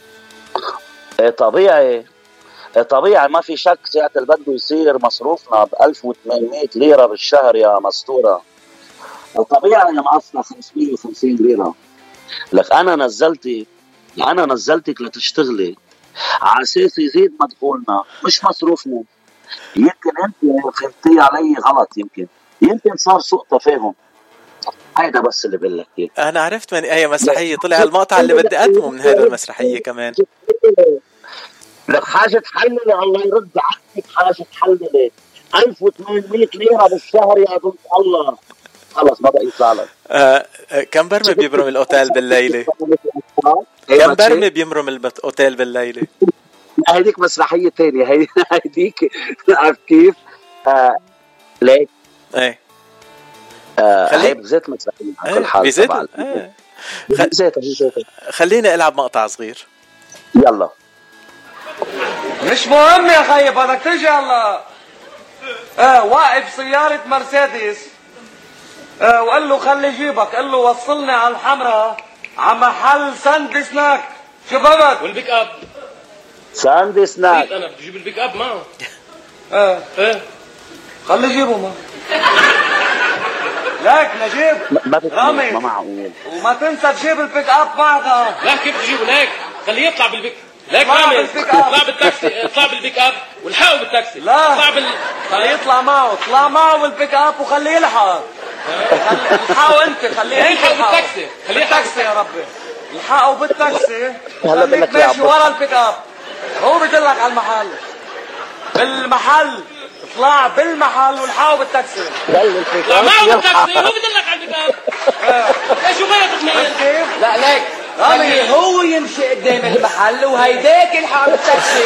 طبيعي طبيعي ما في شك ساعة اللي بده يصير مصروفنا ب ألف وثمانمائة ليرة بالشهر يا مسطورة. طبيعي مقصنا خمسمائة وخمسين ليرة. لك أنا نزلتك أنا نزلتك لتشتغلي على أساس يزيد مدخولنا مش مصروفنا. يمكن أنت فهمتي علي غلط، يمكن يمكن صار سوء تفاهم. هيدا بس اللي بقول لك. أنا عرفت من أي مسرحية طلع المقطع اللي بدي أقدمه من هذا المسرحية كمان. لك حاجة تحللي، الله يرد عنك حاجة تحللي. ألف وثمانمائة ليرة بالشهر يا بنت الله، خلص ما بقى يطلع لك. آه كم برمي بيبرم الأوتيل بالليلة؟ كم برمي بيمرم الأوتيل بالليلة؟ هيديك مسرحية تانية، هيديك عارف كيف؟ آه ليك ايه آه هي بزيت مسرحية على كل حال. بزيت ايه بزيت بزيت. خليني ألعب مقطع صغير. يلا. مش مهم يا خيي، بدك تجي هلا. اه واقف سيارة مرسيدس، اه وقال له خلي جيبك، قال له وصلني على الحمراء على محل ساند سناك. شو بدك؟ والبيك اب ساند سناك. انا بدي اجيب البيك اب معه. اه ايه خلي جيبه ما لك نجيب ما رامي ما معقول. وما تنسى تجيب البيك اب معك. لا كيف تجيبه؟ ليك خليه يطلع بالبيك. ليك رامي اطلع بالتاكسي، اطلع بالبيك اب والحقه بالتاكسي. لا اطلع بال خليه يطلع معه، اطلع معه بالبيك اب وخليه يلحق. الحقه انت، خليه يلحق بالتاكسي، خليه بالتاكسي يا ربي. الحقه بالتاكسي هلا بدك ماشي ورا البيك اب، هو بدلك على المحل. بالمحل اطلع بالمحل والحقه بالتاكسي. لا معه بالتاكسي، هو بدلك على البيك اب. ايش شو غير تقنيه؟ لا ليك رامي هو يمشي قدام المحل وهيداك يلحق بالتاكسي.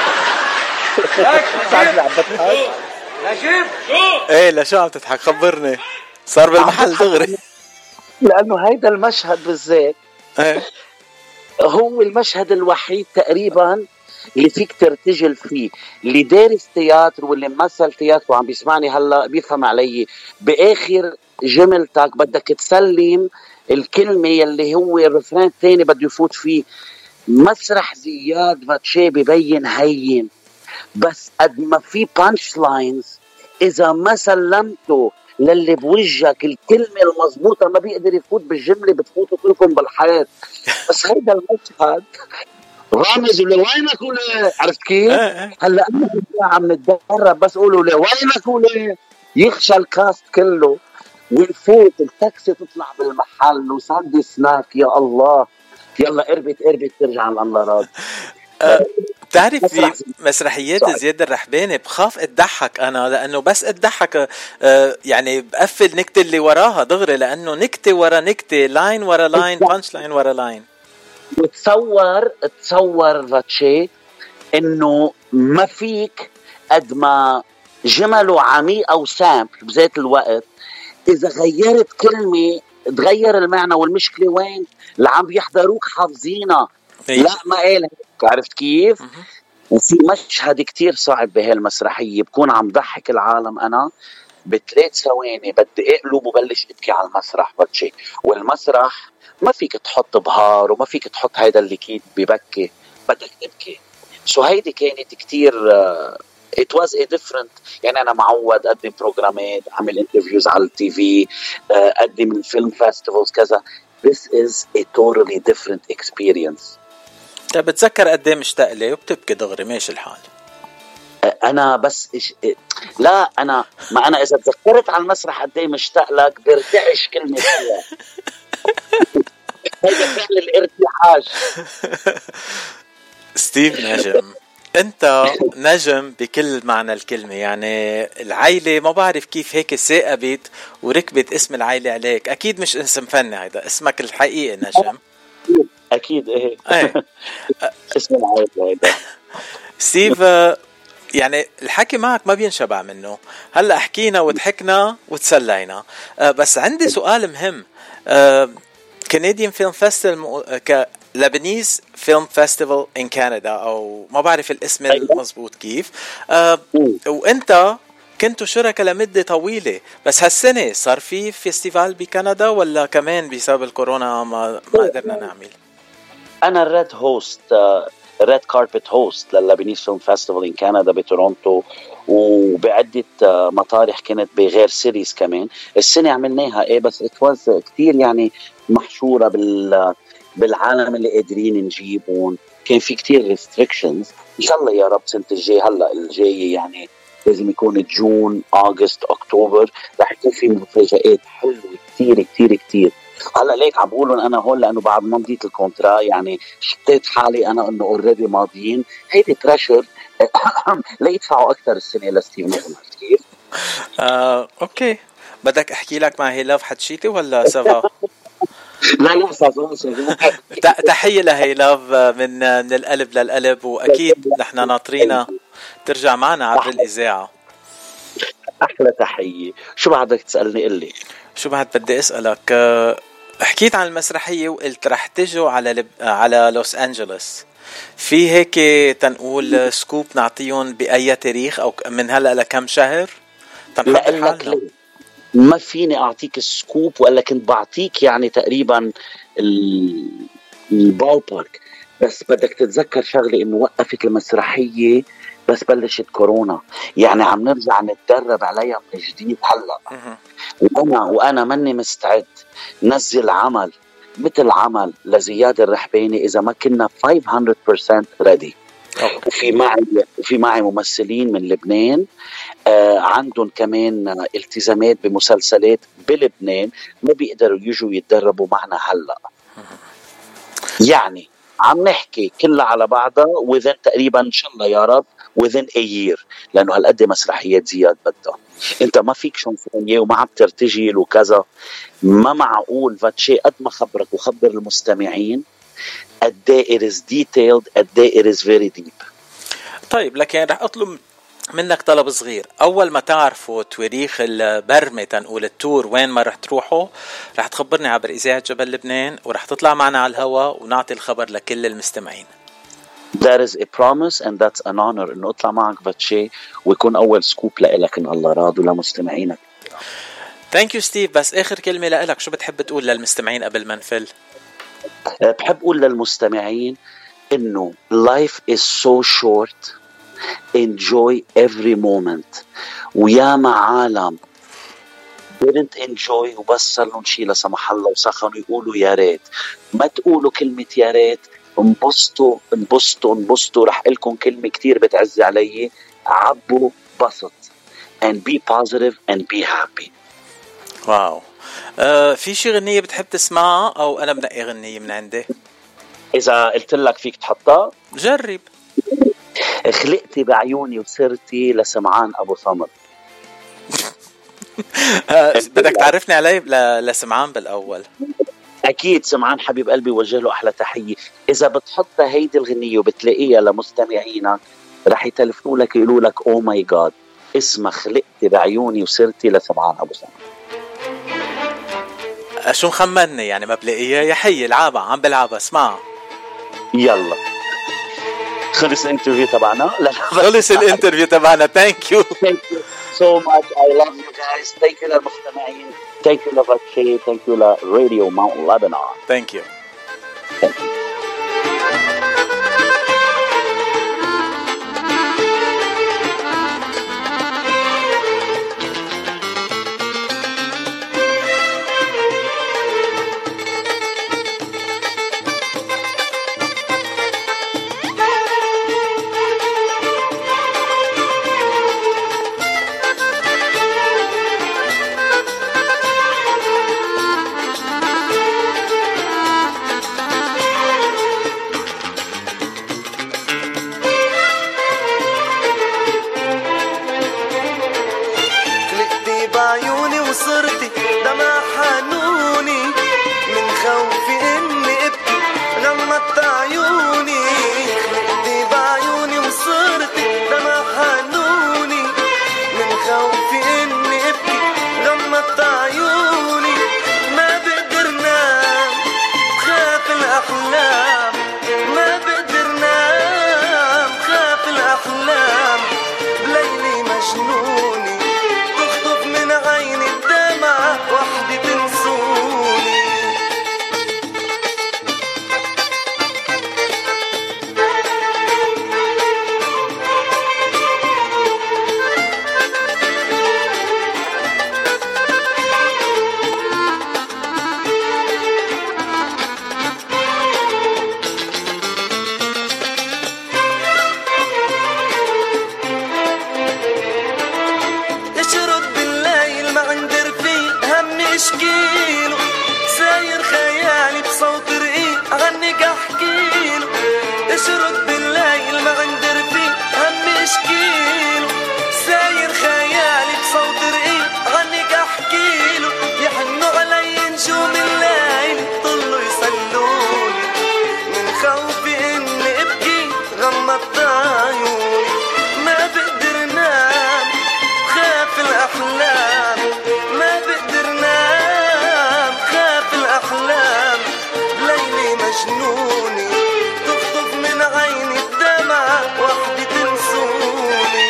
ليك نجيب نجيب شو؟ ايه لا شو عم تضحك؟ خبرني. صار بالمحل دغري. لانه هيدا المشهد بالذات ايه هو المشهد الوحيد تقريبا اللي فيك ترتجل فيه. اللي دارس تياتر واللي ممثل تياتر وعم بيسمعني هلا بيفهم علي. باخر جملتك بدك تسلم الكلمة اللي هو الرفران الثاني بده يفوت فيه. مسرح زياد فاتشي ببين هين، بس قد ما في بانش لاينز إذا ما سلمته للي بوجهك الكلمة المضبوطة ما بيقدر يفوت بالجملة، بتفوتوا كلكم بالحياة. بس هيدا المشهد رامز ولا وينك ولا عرفت كيف؟ هلا أنا عم نتدرب بس قولوا لي وينك ولا يخشى الكاست كله ونفوت التاكسي تطلع بالمحل وساند سناك. يا الله يلا قربت قربت ترجع لله راضي. بتعرف في مسرحيات زياد الرحباني بخاف اتضحك انا، لانه بس اتضحك أه يعني بقفل نكتة اللي وراها دغري، لانه نكتة ورا نكتة، لاين ورا لاين، بانش لاين ورا لاين. وتصور تصور فاتشي انه ما فيك قد ما جمله عميقة وسامبل بذات الوقت إذا غيرت كلمة تغير المعنى. والمشكلة وين؟ اللي عم بيحضروك حافظينها. لا ما قال عرفت كيف؟ وفي مشهد كتير صعب بهالمسرحية بكون عم ضحك العالم أنا بثلاث ثواني بدي اقلب وبلش ابكي على المسرح بتشي. والمسرح ما فيك تحط بهار وما فيك تحط هيدا اللي كيد ببكي، بدك تبكي. سو هيدي كانت كتير uh, it was a different. يعني أنا معود أقدم بروجرامات، أعمل انترفيوز على التي في، أقدم الفيلم فيستيفالز كذا. This is a totally different experience. طيب بتذكر قد ايه مشتاق لي وبتبكي دغري ماشي الحال؟ انا بس إش... لا انا ما انا اذا تذكرت على المسرح قد ايه مشتاق لك بيرتعش كلمه فيها. هيدا فعل الارتعاش. ستيف نجم، انت نجم بكل معنى الكلمة، يعني العائلة ما بعرف كيف هيك ثاقبت وركبت اسم العائلة عليك. اكيد مش اسم فني، هيدا اسمك الحقيقي نجم. اكيد ايه, ايه. اسم العائلة هيدا. ستيف، يعني الحكي معك ما بينشبع منه. هلا حكينا وضحكنا وتسلينا، بس عندي سؤال مهم. كنديان فيلم فيستيفال ك لبنيز فيلم فيستيفال ان كندا، او ما بعرف الاسم المضبوط كيف. أه وانت كنتوا شركاء لمدة طويلة، بس هالسنة صار في فيستيفال بكندا ولا كمان بسبب الكورونا ما ما قدرنا نعمل؟ انا الريد هوست ريد كاربت هوست للبنيز فيلم فيستيفال ان كندا بتورونتو، وبعدة مطارح كانت بغير سيريز كمان. السنة عملناها ايه بس اتواز كتير يعني محشورة بال بالعالم اللي قادرين نجيبهم. كان في كتير ريستريكشنز. ان شاء الله يا رب سنة الجاي هلا الجاي يعني لازم يكون جون اغسطس اكتوبر رح يكون في مفاجآت حلوة كتير كتير كتير. هلا ليك عم بقولن انا هون لانه بعد ما مضيت الكونترا يعني شتيت حالي انا انه اوريدي ماضيين. هيدي بريشر لا يدفعوا اكثر السنه لستيف نجم. كيف؟ آه، اوكي، بدك احكي لك مع هيلاف حتشيتي ولا سافا؟ لا لا سافا سافا. تحيه لهيلاف من من القلب للقلب، واكيد نحن ناطرينا ترجع معنا عبر الاذاعه. احلى تحيه. شو بعدك تسالني؟ قل لي شو بعد بدي اسالك. حكيت عن المسرحيه وقلت رح تجوا على لب... على لوس انجلوس. في هيك تنقول سكوب نعطيهم باي تاريخ او من هلا لكم شهر؟ لا ما فيني اعطيك السكوب، ولا كنت بعطيك يعني تقريبا البال بارك. بس بدك تتذكر شغله انه وقفت المسرحيه بس بلشت كورونا، يعني عم نرجع نتدرب عليها من جديد هلا. وانا وانا ماني مستعد نزل عمل مثل عمل لزياد الرحباني اذا ما كنا خمسمية بالمية ريدي. وفي معي وفي معي ممثلين من لبنان آه عندهم كمان التزامات بمسلسلات بلبنان ما بيقدروا يجوا يتدربوا معنا هلا. يعني عم نحكي كلها على بعضها وذن تقريبا ان شاء الله يا رب within a year، لانه هالقد مسرحيات زياد بدها. انت ما فيك شنفونيه وما عم ترتجل وكذا. ما معقول فاتشي قد ما خبرك وخبر المستمعين قد ايه it is detailed قد ايه it is very deep. طيب لكن رح اطلب منك طلب صغير. اول ما تعرفوا تواريخ البرمة تنقول التور وين ما رح تروحوا رح تخبرني عبر اذاعة جبل لبنان ورح تطلع معنا على الهواء ونعطي الخبر لكل المستمعين. That is a promise and that's an honor انه اطلع معك فاتشي ويكون اول سكوب لك ان الله راضي ولمستمعينك. Thank you ستيف. بس اخر كلمة لك شو بتحب تقول للمستمعين قبل ما نفل؟ بحب اقول للمستمعين انه life is so short, enjoy every moment. ويا عالم didn't enjoy وبس صار لهم شيء لا سمح الله وسخنوا يقولوا يا ريت. ما تقولوا كلمة يا ريت، انبسطوا انبسطوا انبسطوا. رح لكم كلمة كتير بتعزي علي، عبوا بسط and be positive and be happy. واو. آه، في شي غنية بتحب تسمعها أو أنا بنقي غنية من عندي؟ إذا قلت لك فيك تحطها جرب. خلقتي بعيوني وسرتي لسمعان أبو سمر. بدك تعرفني عليه لسمعان بالأول. أكيد سمعان حبيب قلبي وجه له أحلى تحية. إذا بتحطها هيدي الغنية وبتلاقيها لمستمعينك رح يتلفوا لك يقولوا لك أو ماي جاد اسمها خلقتي بعيوني وسرتي لسمعان أبو سمر. شو مخمني يعني ما بلاقيها؟ يا حي العابة عم بلعبها اسمعها. يلا خلص الانترفيو تبعنا. خلص الانترفيو تبعنا. Thank you. Thank you so much. I love you guys. Thank you للمستمعين. Thank you لفاتشي. Thank you لراديو Mount Lebanon. Thank you. Thank you. اشرد بالليل ما عند رفيق هم اشكيله ساير خيالي بصوت رقيق عنك احكيله يحنوا علي نجوم الليل طلوا يصلولي من خوفي اني ابكي غمضت عيوني ما بقدر نام خاف الاحلام ما بقدر نام خاف الاحلام ليلي مجنوني تخطف من عيني الدمع وحدي تنسوني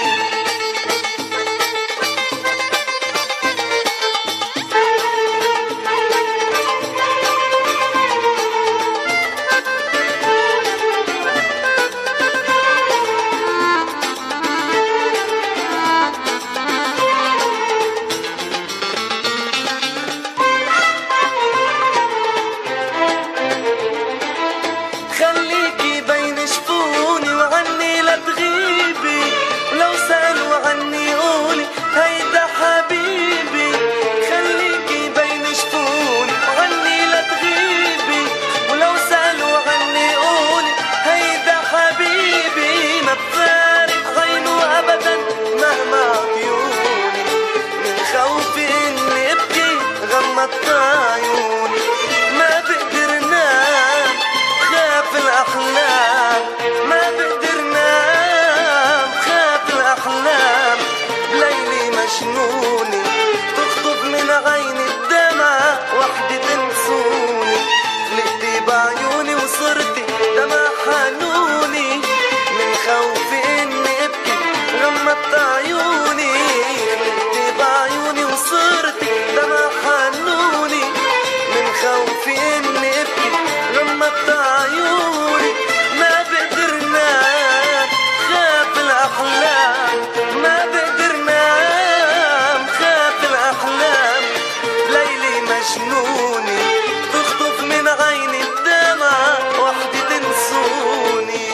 خليكي بين شفوني وعني لا تغيبي ولو سألوا عني قولي هيدا حبيبي خليكي بين شفوني وعني لا تغيبي ولو سألوا عني قولي هيدا حبيبي ما بفارق عينه أبدا مهما عيوني من خوفي إني أبكي غمضت عيوني ما بقدر نام خاف الأحلام ما بقدر نام خاف الأحلام ليلي مجنوني تخطف من عيني الدمع وحدي تنسوني غلقتي بعيوني وصرتي دمع حنوني من خوفي إني أبكي غمضت عيوني غلقتي بعيوني وصرتي دمع حنوني من خوفي إني أبكي غمضت عيوني ما بقدر نام خاف الأحلام ما بقدر نام خاف الأحلام ليلي مجنوني تخطف من عيني الدمع وحدي تنسوني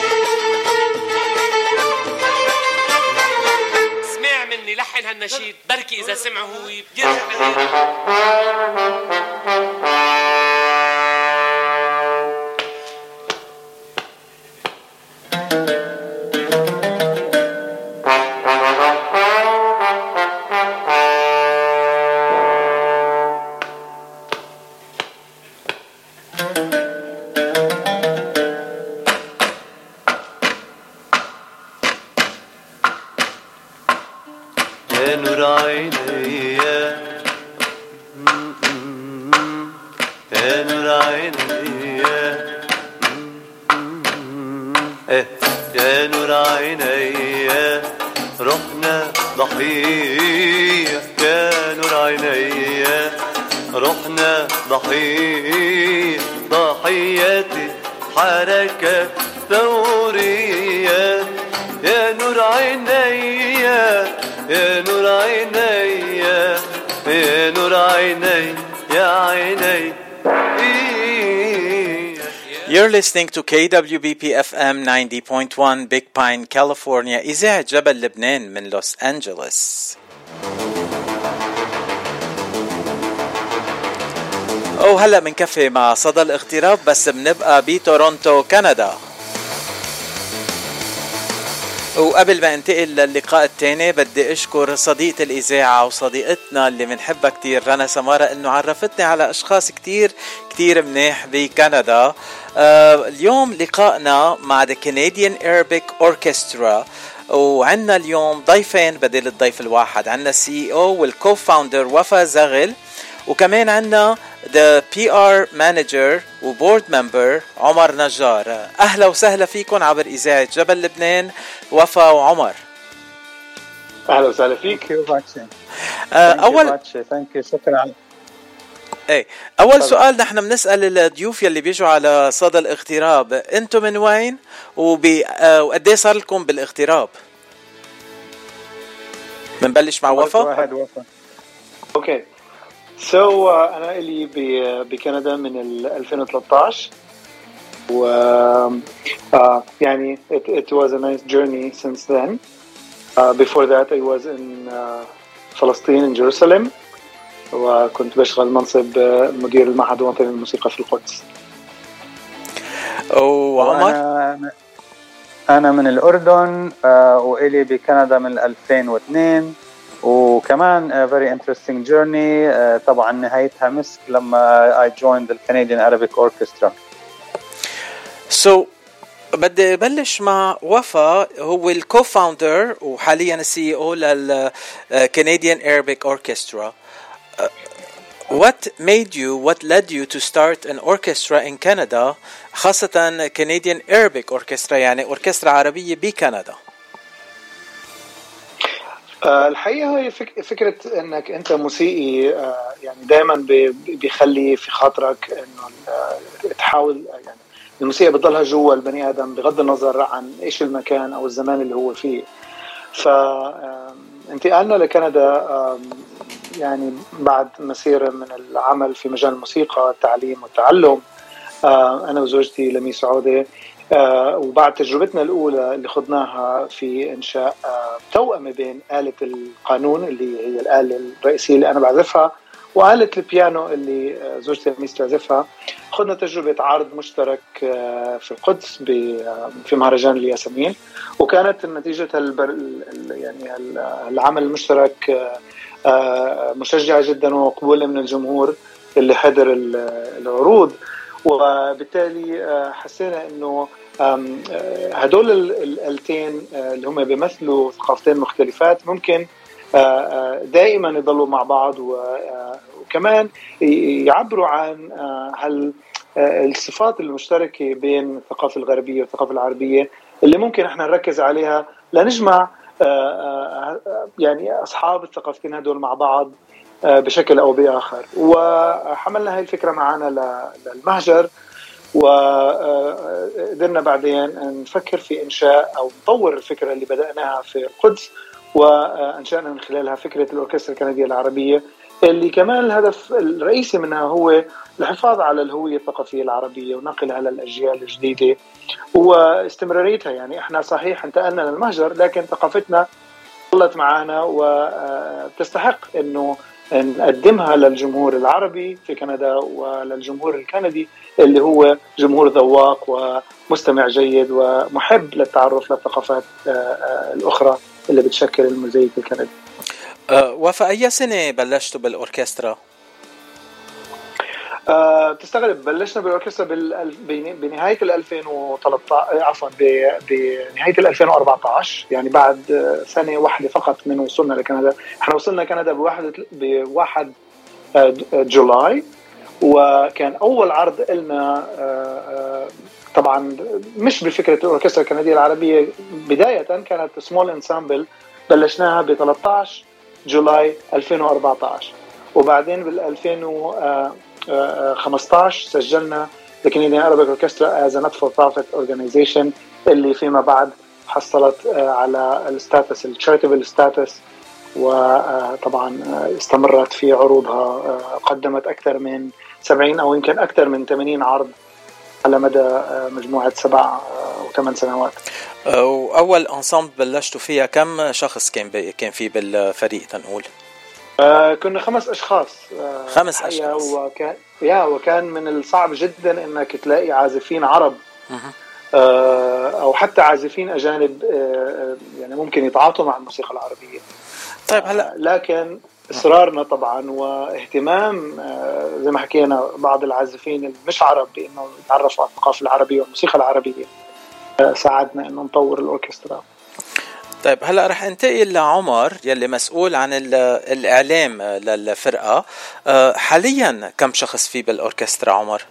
اسمع مني لحن هالنشيد بركي إذا سمعه هو بيرجع يا نور عيني يا نور عيني يا نور عيني رحنا ضحية يا نور عيني رحنا ضحية ضحية حركة ثورية يا نور عيني يا نور عيني يا نور عيني يا عيني. You're listening to K W B P F M ninety point one Big Pine, California, إذاعة جبل لبنان من لوس أنجلوس. أو هلأ منكفي مع صدى الاغتراب بس بنبقى بتورونتو كندا. وقبل ما انتقل للقاء التاني بدي اشكر صديقة الاذاعة وصديقتنا اللي منحبها كتير رنا سمارة انه عرفتني على اشخاص كتير كتير منيح بكندا. آه اليوم لقائنا مع The Canadian Arabic Orchestra وعنا اليوم ضيفين بدل الضيف الواحد. عنا السي او والكو-فاوندر وفا زغل وكمان عنا The بي آر Manager وبورد ممبر عمر نجار. أهلا وسهلا فيكم عبر إذاعة جبل لبنان وفا وعمر. أهلا وسهلا فيك. أول شكرا. ايه أول طبعا. سؤال نحن بنسأل الضيوف يلي بيجوا على صدى الاغتراب أنتم من وين وبي... وقديه صار لكم بالاغتراب؟ بنبلش مع وفا. واحد وفا. أوكي. سو so, uh, أنا إلي بكندا من ألفين وثلاثة عشر و uh, يعني it, it was a nice journey since then. Uh, before that I was in uh, فلسطين in Jerusalem وكنت بشغل منصب مدير المعهد الوطني للموسيقى في القدس. وعمر أنا من الأردن آه وإلي بكندا من ألفين واثنين، وكمان uh, very interesting journey uh, طبعا نهايتها مسك لما I joined the Canadian Arabic Orchestra. So بدي بلش مع وفا، هو الكو-فاوندر وحاليا السي او لل Canadian Arabic Orchestra. Uh, what made you, what led you to start an orchestra in Canada، خاصة Canadian Arabic Orchestra يعني أوركسترا عربية بكندا؟ أه الحقيقة هي فك فكرة أنك أنت موسيقي أه يعني دائما بيخلي في خاطرك أنه تحاول يعني الموسيقى بتضلها جوا البني آدم بغض النظر عن إيش المكان أو الزمان اللي هو فيه. فانتقالنا لكندا يعني بعد مسيرة من العمل في مجال الموسيقى التعليم والتعلم، أنا وزوجتي لميس عودة، وبعد تجربتنا الأولى اللي خضناها في إنشاء توأمة بين آلة القانون اللي هي الآلة الرئيسية اللي أنا بعزفها وآلة البيانو اللي زوجتي لميس تعزفها، خدنا تجربة عرض مشترك في القدس في مهرجان الياسمين، وكانت نتيجة يعني العمل المشترك مشجعة جدا ومقبولة من الجمهور اللي حضر العروض. وبالتالي حسينا انه هدول الآلتين اللي هم بيمثلوا ثقافتين مختلفات ممكن دائما يضلوا مع بعض، وكمان يعبروا عن هال الصفات المشتركة بين الثقافة الغربية والثقافة العربية اللي ممكن احنا نركز عليها لنجمع يعني أصحاب الثقافتين هدول مع بعض بشكل أو بآخر. وحملنا هاي الفكرة معنا للمهجر، وقدرنا بعدين نفكر في إنشاء أو نطور الفكرة اللي بدأناها في القدس، وأنشأنا من خلالها فكرة الأوركسترا الكندية العربية اللي كمان الهدف الرئيسي منها هو الحفاظ على الهوية الثقافية العربية ونقلها للأجيال الجديدة واستمراريتها. يعني احنا صحيح انتقلنا للمهجر لكن ثقافتنا ظلت معنا وتستحق انه نقدمها للجمهور العربي في كندا وللجمهور الكندي اللي هو جمهور ذواق ومستمع جيد ومحب للتعرف للثقافات الأخرى اللي بتشكل الموزايك الكندي. أه وفي أي سنة بلشتوا بالأوركسترا؟ أه تستغرب، بلشنا بالأوركسترا بنهاية الألفين وثلاثة عشر عفوا بنهاية الألفين وأربعة عشر، يعني بعد سنة واحدة فقط من وصولنا لكندا. احنا وصلنا كندا بواحد بواحد جولاي، وكان أول عرض لنا طبعا مش بفكرة الأوركسترا الكندية العربية بداية، كانت سمول انسامبل بلشناها ب ثلاثة عشر جولاي ألفين وأربعة عشر، وبعدين بال ألفين وخمسة عشر سجلنا The Canadian Arabic Orchestra as a not for profit organization اللي فيما بعد حصلت على الستاتس الشاريتابل ستاتس، وطبعا استمرت في عروضها، قدمت أكثر من سبعين أو يمكن أكثر من ثمانين عرض على مدى مجموعة سبع وثمان سنوات. وأول أنسامبل بلشتوا فيها كم شخص كان كان فيه بالفريق تنقول؟ آه كنا خمس أشخاص. آه خمس أشخاص. وكان يا وكان من الصعب جدا إنك تلاقي عازفين عرب آه أو حتى عازفين أجانب آه يعني ممكن يتعاطوا مع الموسيقى العربية. طيب هلا آه لكن إصرارنا طبعا واهتمام آه زي ما حكينا بعض العازفين المش عرب بأنه يتعرفوا على الثقافة العربية والموسيقى العربية آه ساعدنا إنه نطور الأوركسترا. طيب هلا رح انتقل لعمر يلي مسؤول عن الإعلام للفرقة. آه حاليا كم شخص فيه بالأوركسترا عمر؟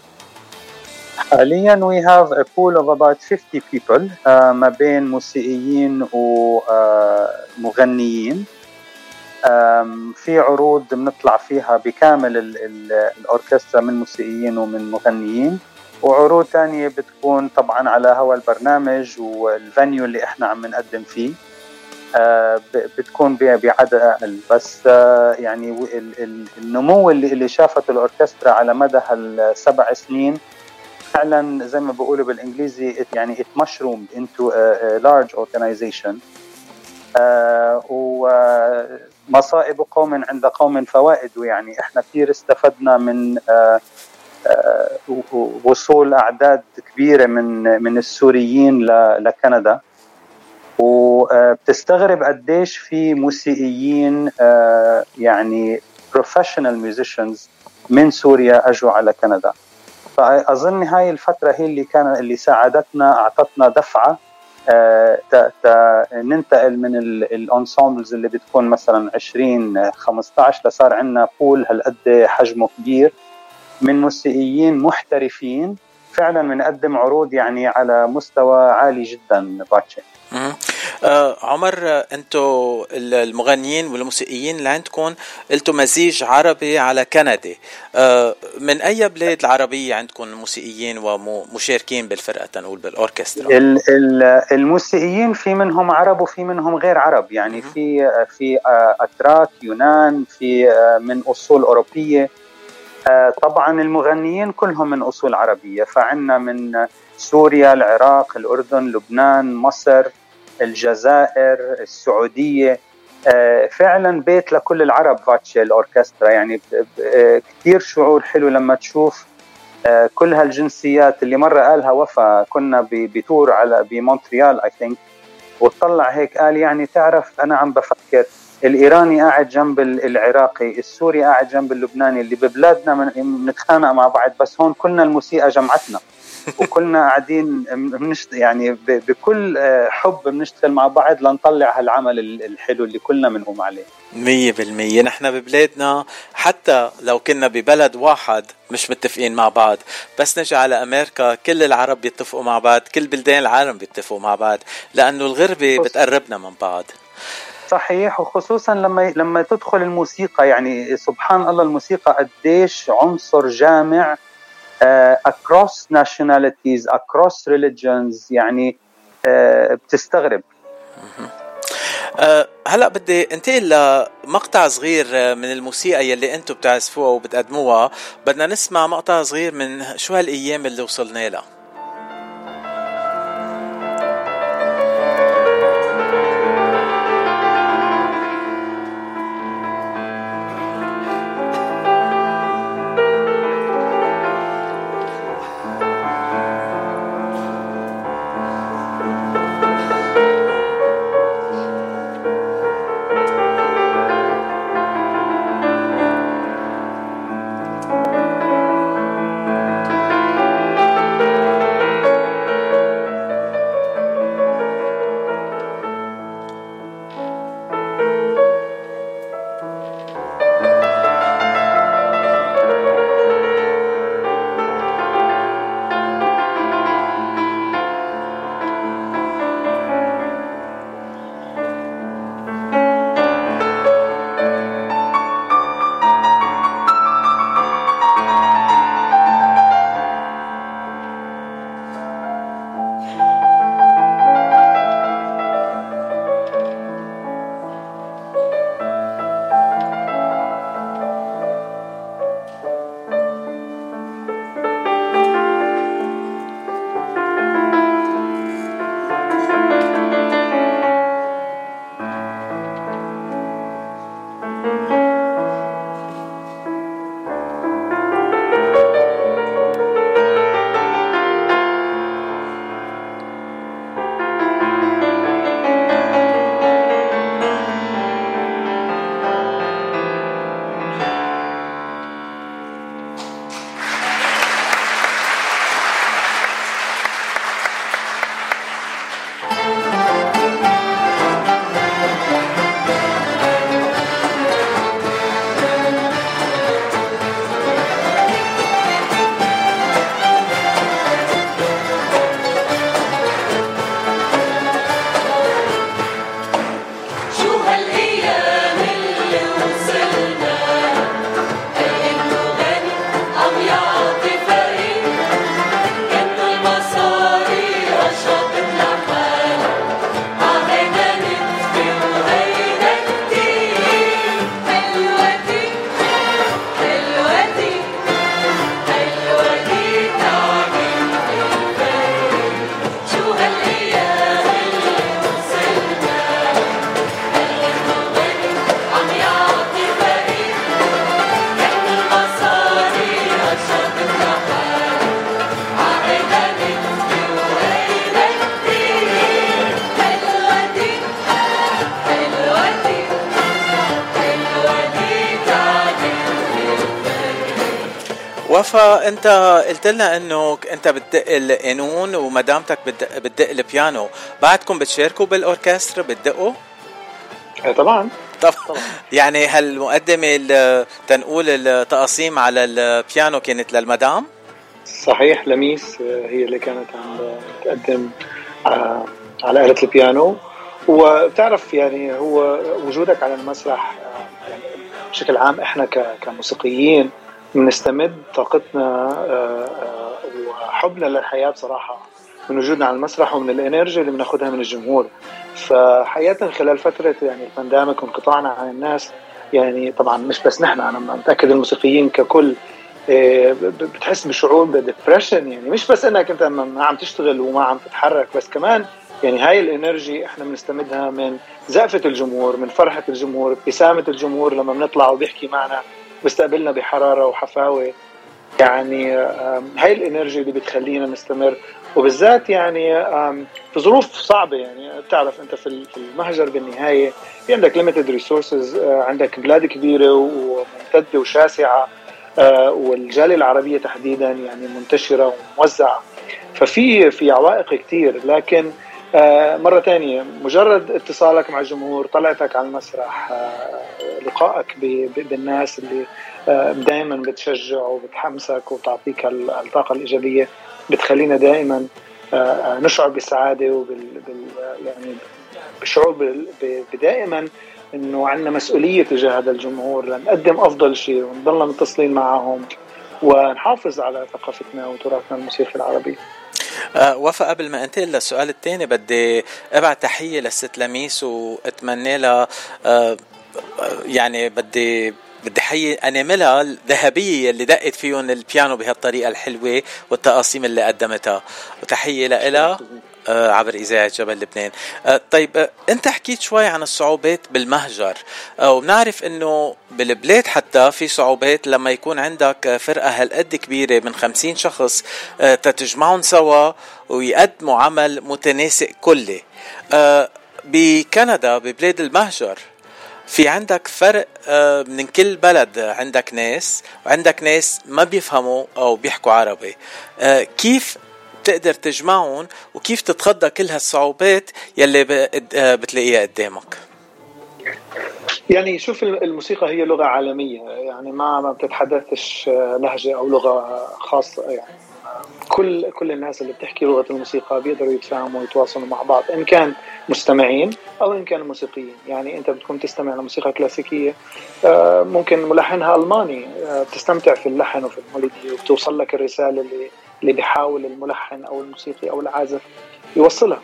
حاليا we have a pool of about fifty people uh, ما بين موسيقيين ومغنيين. uh, في عروض بنطلع فيها بكامل ال ال الأوركسترا من موسيقيين ومن مغنيين، وعروض تانية بتكون طبعا على هوا البرنامج والفانيو اللي احنا عم نقدم فيه آه بتكون بعدد أقل. بس آه يعني النمو اللي, اللي شافته الأوركسترا على مدى هالسبع سنين فعلا زي ما بقولوا بالإنجليزي يعني it mushroomed into a, a large organization. آه ومصائب قوم عند قوم فوائد، يعني احنا كثير استفدنا من آه وصول أعداد كبيرة من من السوريين لكندا، وبتستغرب قديش في موسيقيين يعني professional musicians من سوريا أجوا على كندا. فأظن هاي الفترة هي اللي كان اللي ساعدتنا، أعطتنا دفعة ننتقل من الانسامبلز اللي بتكون مثلا عشرين خمسة عشر لصار عندنا بول هالقد حجمه كبير من موسيقيين محترفين فعلا بنقدم عروض يعني على مستوى عالي جدا. باتشي آه عمر، انتو المغنيين والموسيقيين اللي عندكم قلتوا مزيج عربي على كندي، آه من اي بلاد العربية عندكم موسيقيين ومشاركين بالفرقة تنقول بالاوركسترا؟ الموسيقيين في منهم عرب وفي منهم غير عرب، يعني في في اتراك، يونان، في من اصول اوروبية. طبعا المغنيين كلهم من أصول عربية، فعنا من سوريا، العراق، الأردن، لبنان، مصر، الجزائر، السعودية. فعلا بيت لكل العرب باتشي الأوركسترا، يعني كتير شعور حلو لما تشوف كل هالجنسيات. اللي مرة قالها وفا، كنا بتور على بمونتريال I think، وطلع هيك قال يعني تعرف أنا عم بفكر الإيراني قاعد جنب العراقي، السوري قاعد جنب اللبناني، اللي ببلادنا بنتخانق مع بعض، بس هون كلنا الموسيقى جمعتنا وكلنا قاعدين بنشت يعني بكل حب بنشتغل مع بعض لنطلع هالعمل الحلو اللي كلنا بنقوم عليه. مية بالمية نحن ببلادنا حتى لو كنا ببلد واحد مش متفقين مع بعض، بس نجي على أمريكا كل العرب بيتفقوا مع بعض، كل بلدان العالم بيتفقوا مع بعض، لأنه الغربة بتقربنا من بعض. صحيح، وخصوصا لما لما تدخل الموسيقى، يعني سبحان الله الموسيقى قديش عنصر جامع uh, across nationalities across religions، يعني uh, بتستغرب. أه هلأ بدي انتقل لمقطع صغير من الموسيقى يلي انتم بتعزفوها وبتقدموها. بدنا نسمع مقطع صغير من شو هالأيام اللي وصلنا لها. وفا انت قلت لنا انه انت بتدق القانون ومدامتك بتدق, بتدق البيانو، بعدكم بتشاركوا بالاوركسترا بتدقوا؟ طبعا طبعا. يعني هالمقدمة تنقول التقاسيم على البيانو كانت للمدام؟ صحيح، لميس هي اللي كانت عم تقدم على آلة البيانو. وبتعرف يعني هو وجودك على المسرح يعني بشكل عام احنا كموسيقيين بنستمد طاقتنا وحبنا للحياة بصراحة من وجودنا على المسرح ومن الانرجي اللي بناخدها من الجمهور. فحقيقة خلال فترة يعني البانديميك وانقطاعنا عن الناس، يعني طبعا مش بس نحن، انا متأكد الموسيقيين ككل بتحس بشعور بديبريشن، يعني مش بس انك انت ما عم تشتغل وما عم تتحرك، بس كمان يعني هاي الانرجي احنا بنستمدها من زقفة الجمهور، من فرحة الجمهور، ابتسامة الجمهور لما بنطلع وبيحكي معنا بيستقبلنا بحرارة وحفاوة. يعني هاي الانرجي اللي بتخلينا نستمر، وبالذات يعني في ظروف صعبة. يعني بتعرف انت في المهجر بالنهاية في عندك limited resources، عندك بلاد كبيرة وممتدة وشاسعة، والجالية العربية تحديدا يعني منتشرة وموزعة، ففي في عوائق كتير. لكن مرة تانية مجرد اتصالك مع الجمهور، طلعتك على المسرح، لقائك بالناس اللي دائما بتشجع وبتحمسك وتعطيك الطاقة الإيجابية، بتخلينا دائما نشعر بالسعادة وبال يعني بالشعور بدائما إنه عندنا مسؤولية تجاه هذا الجمهور لنقدم أفضل شيء ونضلنا متصلين معهم ونحافظ على ثقافتنا وتراثنا الموسيقي العربي. أه وفا، قبل ما انتقل للسؤال الثاني بدي ابعت تحية للست لميس واتمنى لها أه يعني بدي بدي حي اناملها الذهبية اللي دقت فيهم البيانو بهالطريقة الحلوة والتقاسيم اللي قدمتها، وتحية لها آه عبر إذاعة جبل لبنان. آه طيب آه أنت حكيت شوي عن الصعوبات بالمهجر، آه وبنعرف أنه بالبلاد حتى في صعوبات لما يكون عندك فرقة هالقد كبيرة من خمسين شخص آه تتجمعون سوا ويقدموا عمل متناسق كله. آه بكندا ببلاد المهجر في عندك فرق آه من كل بلد، عندك ناس وعندك ناس ما بيفهموا أو بيحكوا عربي. آه كيف تقدر تجمعون وكيف تتخطى كل هالصعوبات يلي بتلاقيها قدامك؟ يعني شوف، الموسيقى هي لغة عالمية، يعني ما ما بتتحدثش لهجة أو لغة خاصة. يعني كل كل الناس اللي بتحكي لغة الموسيقى بيقدروا يتفاهموا ويتواصلوا مع بعض، إن كان مستمعين أو إن كان موسيقيين. يعني أنت بتكون تستمع لموسيقى كلاسيكية، ممكن ملحنها ألماني، بتستمتع في اللحن وفي الميلودي وبتوصل لك الرسالة اللي اللي بيحاول الملحن أو الموسيقي أو العازف يوصلها.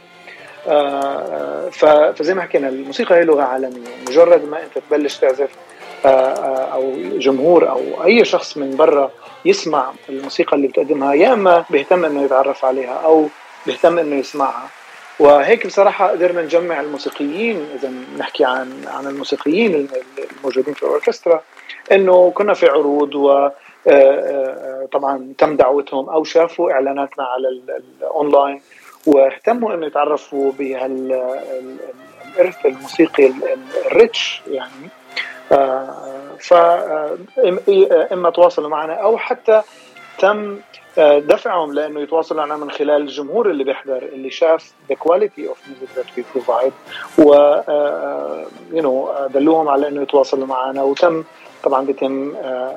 فزي ما حكينا الموسيقى هي لغة عالمية، مجرد ما أنت تبلش تعزف أو جمهور أو أي شخص من برا يسمع الموسيقى اللي بتقدمها، يا إما بيهتم إنه يتعرف عليها أو بيهتم إنه يسمعها. وهيك بصراحة قدرنا نجمع الموسيقيين، إذا نحكي عن عن الموسيقيين الموجودين في الأوركسترا، إنه كنا في عروض و طبعا تم دعوتهم أو شافوا إعلاناتنا على الأونلاين واهتموا إنه يتعرفوا بهالإرث الموسيقي الريتش. يعني فإما تواصلوا معنا أو حتى تم دفعهم لأنه يتواصلوا معنا من خلال الجمهور اللي بيحضر، اللي شاف the quality of music that we provide، و you know دلوهم على إنه يتواصلوا معنا. وتم طبعا بيتم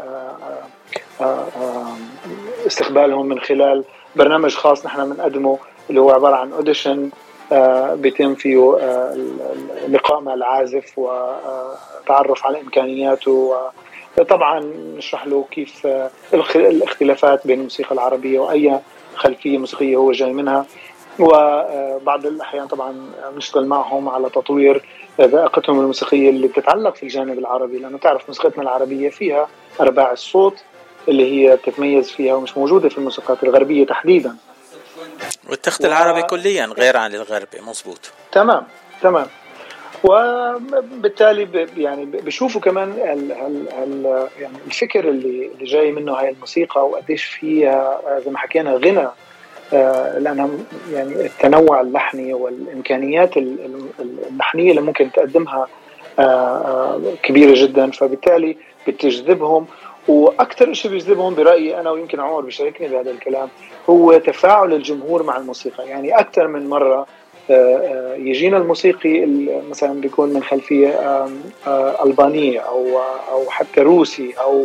استقبالهم من خلال برنامج خاص نحن بنقدمه اللي هو عبارة عن أوديشن، بيتم فيه لقاء مع العازف وتعرف على إمكانياته، وطبعا نشرح له كيف الاختلافات بين الموسيقى العربية وأي خلفية موسيقية هو جاي منها. وبعض الأحيان طبعا نشتغل معهم على تطوير ذائقتهم الموسيقية اللي بتتعلق في الجانب العربي، لأنه تعرف موسيقتنا العربية فيها أرباع الصوت اللي هي تتميز فيها ومش موجودة في الموسيقات الغربية تحديدا، والتخت العربي و... كليا غير عن الغربي. مزبوط، تمام تمام. وبالتالي ب... يعني بشوفوا كمان ال... ال... ال... يعني الفكر اللي اللي جاي منه هاي الموسيقى وقديش فيها زي ما حكينا غنى، آه لأنها يعني التنوع اللحني والإمكانيات اللحنية اللي ممكن تقدمها آه آه كبيرة جدا، فبالتالي بتجذبهم واكثر شيء بيجذبهم برايي انا، ويمكن عمر بيشاركني بهذا الكلام، هو تفاعل الجمهور مع الموسيقى. يعني اكثر من مره يجينا الموسيقي مثلا بيكون من خلفيه البانيه او او حتى روسي او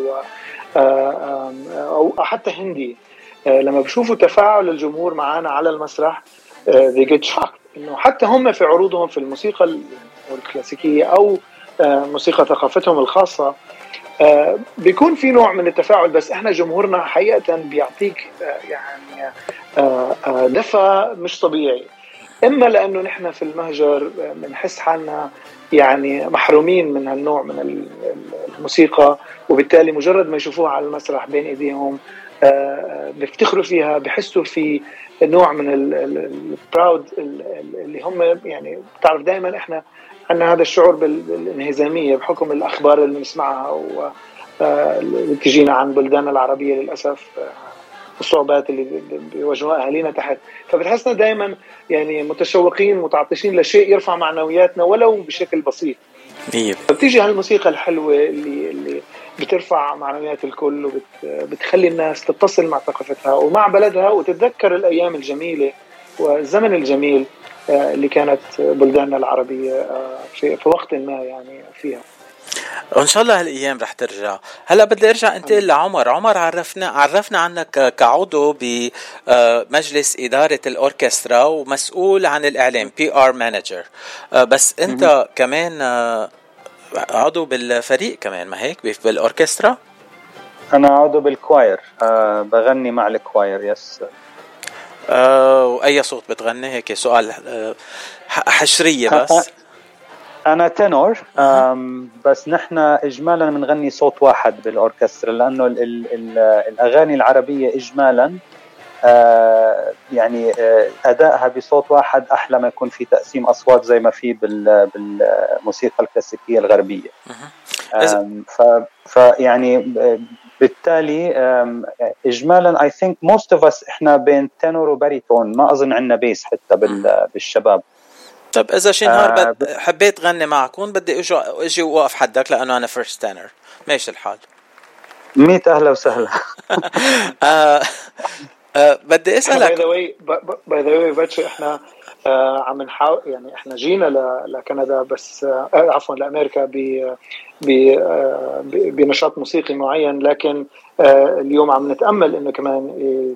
او حتى هندي، لما بشوفوا تفاعل الجمهور معنا على المسرح they get shocked انه حتى هم في عروضهم في الموسيقى الكلاسيكيه او موسيقى ثقافتهم الخاصه بيكون في نوع من التفاعل، بس احنا جمهورنا حقيقه بيعطيك يعني دفى مش طبيعي. اما لانه نحن في المهجر بنحس حالنا يعني محرومين من هالنوع من الموسيقى، وبالتالي مجرد ما يشوفوها على المسرح بين ايديهم بيفتخروا فيها، بحسوا في نوع من البراود اللي هم يعني بتعرف دائما احنا عندنا هذا الشعور بالانهزاميه بحكم الاخبار اللي بنسمعها واللي تجينا عن بلداننا العربيه للاسف، الصعوبات اللي بيواجهوها اهالينا تحت، فبتحسنا دائما يعني متشوقين متعطشين لشيء يرفع معنوياتنا ولو بشكل بسيط. فبتيجي هالموسيقى الحلوه اللي اللي بترفع معنويات الكل وبتخلي الناس تتصل مع ثقافتها ومع بلدها وتتذكر الايام الجميله والزمن الجميل اللي كانت بلداننا العربيه في في وقت ما يعني فيها. وإن شاء الله هالأيام رح ترجع. هلأ بدي أرجع أنتقل لعمر. عمر عرفنا عرفنا عنك كعضو بمجلس إدارة الأوركسترا ومسؤول عن الإعلام بي آر مانجر، بس أنت م- كمان عضو بالفريق كمان ما هيك بالأوركسترا؟ أنا عضو بالكواير، أه بغني مع الكواير. يس. أه وأي صوت بتغني؟ هيك سؤال أه حشرية بس. أنا تنور، بس نحن إجمالا بنغني صوت واحد بالأوركسترا، لأنه ال ال الأغاني العربية إجمالا يعني أدائها بصوت واحد أحلى ما يكون في تقسيم أصوات زي ما في بالموسيقى الكلاسيكية الغربية. فيعني بالتالي إجمالا I think most of us إحنا بين تنور وباريتون، ما أظن عنا بيس حتى بالشباب. طب إذا شي نهار آه حبيت غني معكم بدي أجي أجي وقف حدك لأنه أنا فيرست تانر، ماشي الحال؟ ميت أهلا وسهلا. آه آه بدي أسألك. باي ذا واي باي ذا واي باتشي إحنا آه عم نحاول يعني إحنا جينا لكندا بس آه عفوا لأمريكا ب بنشاط موسيقي معين، لكن آه اليوم عم نتأمل إنه كمان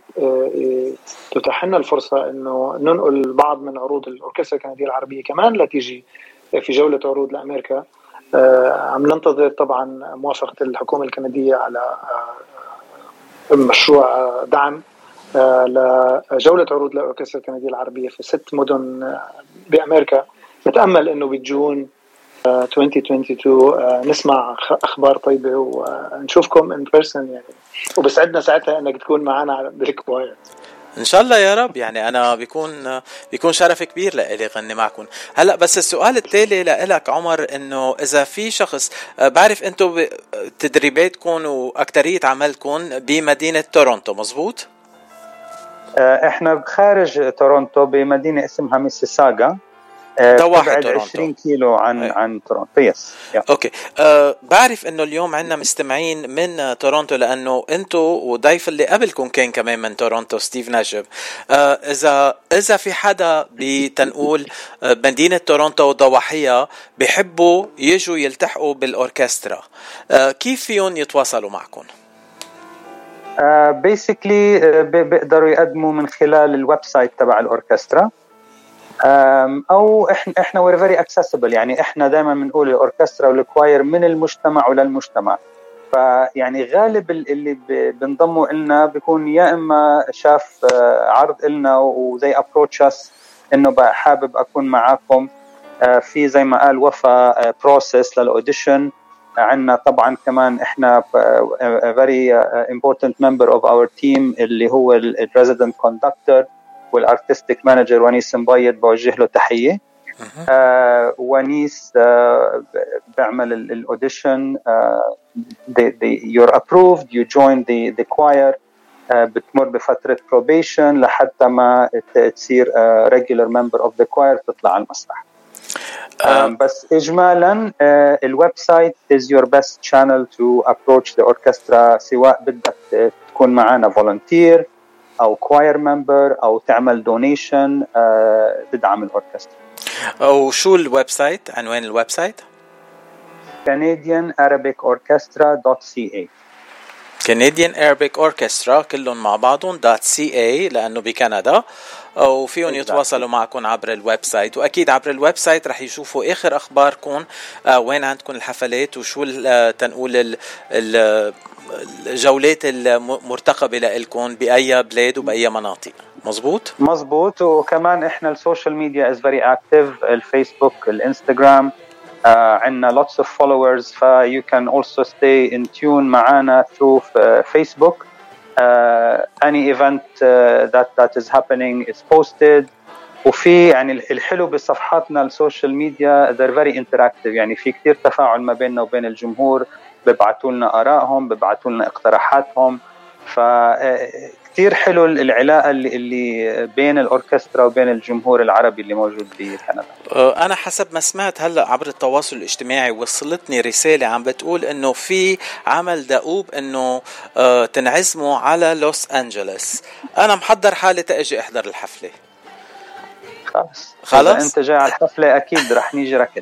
تتاح لنا الفرصة إنه ننقل بعض من عروض الأوركسترا الكندية العربية كمان لا تيجي في جولة عروض لأمريكا. آه عم ننتظر طبعا موافقة الحكومة الكندية على آه مشروع دعم آه لجولة عروض الأوركسترا الكندية العربية في ست مدن بأمريكا. نتأمل إنه بجون ألفين واثنين وعشرين نسمع أخبار طيبة ونشوفكم in person يعني، وبسعدنا ساعتها أنك تكون معنا بالكواير إن شاء الله يا رب. يعني أنا بيكون بيكون شرف كبير لإلي غني معكم. هلأ بس السؤال التالي لإلك عمر، إنه إذا في شخص بعرف أنتوا تدريباتكم وأكترية عملكم بمدينة تورونتو مزبوط؟ إحنا خارج تورونتو بمدينة اسمها ميسيساغا، تبعد عشرين كيلو عن أي. عن تورونتو. يس. اوكي أه بعرف انه اليوم عندنا مستمعين من تورونتو لانه انتو وضيف اللي قبلكم كان كمان من تورونتو ستيف نجب. أه اذا اذا في حدا بتنقول مدينه تورونتو وضواحيها بيحبوا يجوا يلتحقوا بالاوركسترا، أه كيف فيهم يتواصلوا معكم؟ بيسكلي uh, uh, بيقدروا يقدموا من خلال الويب سايت تبع الاوركسترا، او احنا احنا we're very accessible. يعني احنا دائما بنقول الاوركسترا والكواير من المجتمع وللمجتمع، فيعني غالب اللي بنضموا لنا بيكون يا اما شاف عرض لنا وزي approach us انه حابب اكون معاكم في زي ما قال وفا process للاوديشن. عندنا طبعا كمان احنا a very important member of our team اللي هو ال resident conductor والارتستيك مانجر ونيس مبيض، بوجه له تحيه. آه ونيس آه بعمل الاوديشن، آه you're approved, you join the the choir، آه بتمر بفتره probation لحتى ما تصير آه regular member of the choir تطلع على المسرح. بس إجمالا الويب سايت is your best channel to approach the orchestra، سواء بدك تكون معنا volunteer أو choir member أو تعمل donation تدعم الأوركسترا. وشو الويب سايت؟ عنوان الويب سايت؟ Canadian Arabic Orchestra dot c a. Canadian Arabic Orchestra كلهم مع بعضهم .ca لأنه بكندا، وفيهم يتواصلوا معكم عبر الويب سايت، وأكيد عبر الويب سايت رح يشوفوا آخر أخباركم، آه وين عندكم الحفلات وشو تنقول الجولات المرتقبة لكم بأي بلاد وبأي مناطق. مزبوط؟ مزبوط. وكمان إحنا السوشيال ميديا is very active، الفيسبوك، الانستغرام، Uh, عندنا lots of followers، ف you can also stay in tune معنا through uh, Facebook. Uh, any event uh, that that is happening is posted. وفي يعني الحلو بصفحاتنا السوشيال ميديا they're very interactive، يعني في كتير تفاعل ما بيننا وبين الجمهور، ببعثوا لنا آرائهم، ببعثوا لنا اقتراحاتهم، فكتير حلو العلاقة اللي, اللي بين الأوركسترا وبين الجمهور العربي اللي موجود بكندا. أنا حسب ما سمعت هلأ عبر التواصل الاجتماعي وصلتني رسالة عم بتقول إنه في عمل دؤوب إنه تنعزموا على لوس أنجلوس. أنا محضر حالي تأجي أحضر الحفلة. خلاص خلاص أنت جاي على الحفلة أكيد رح نيجي ركض.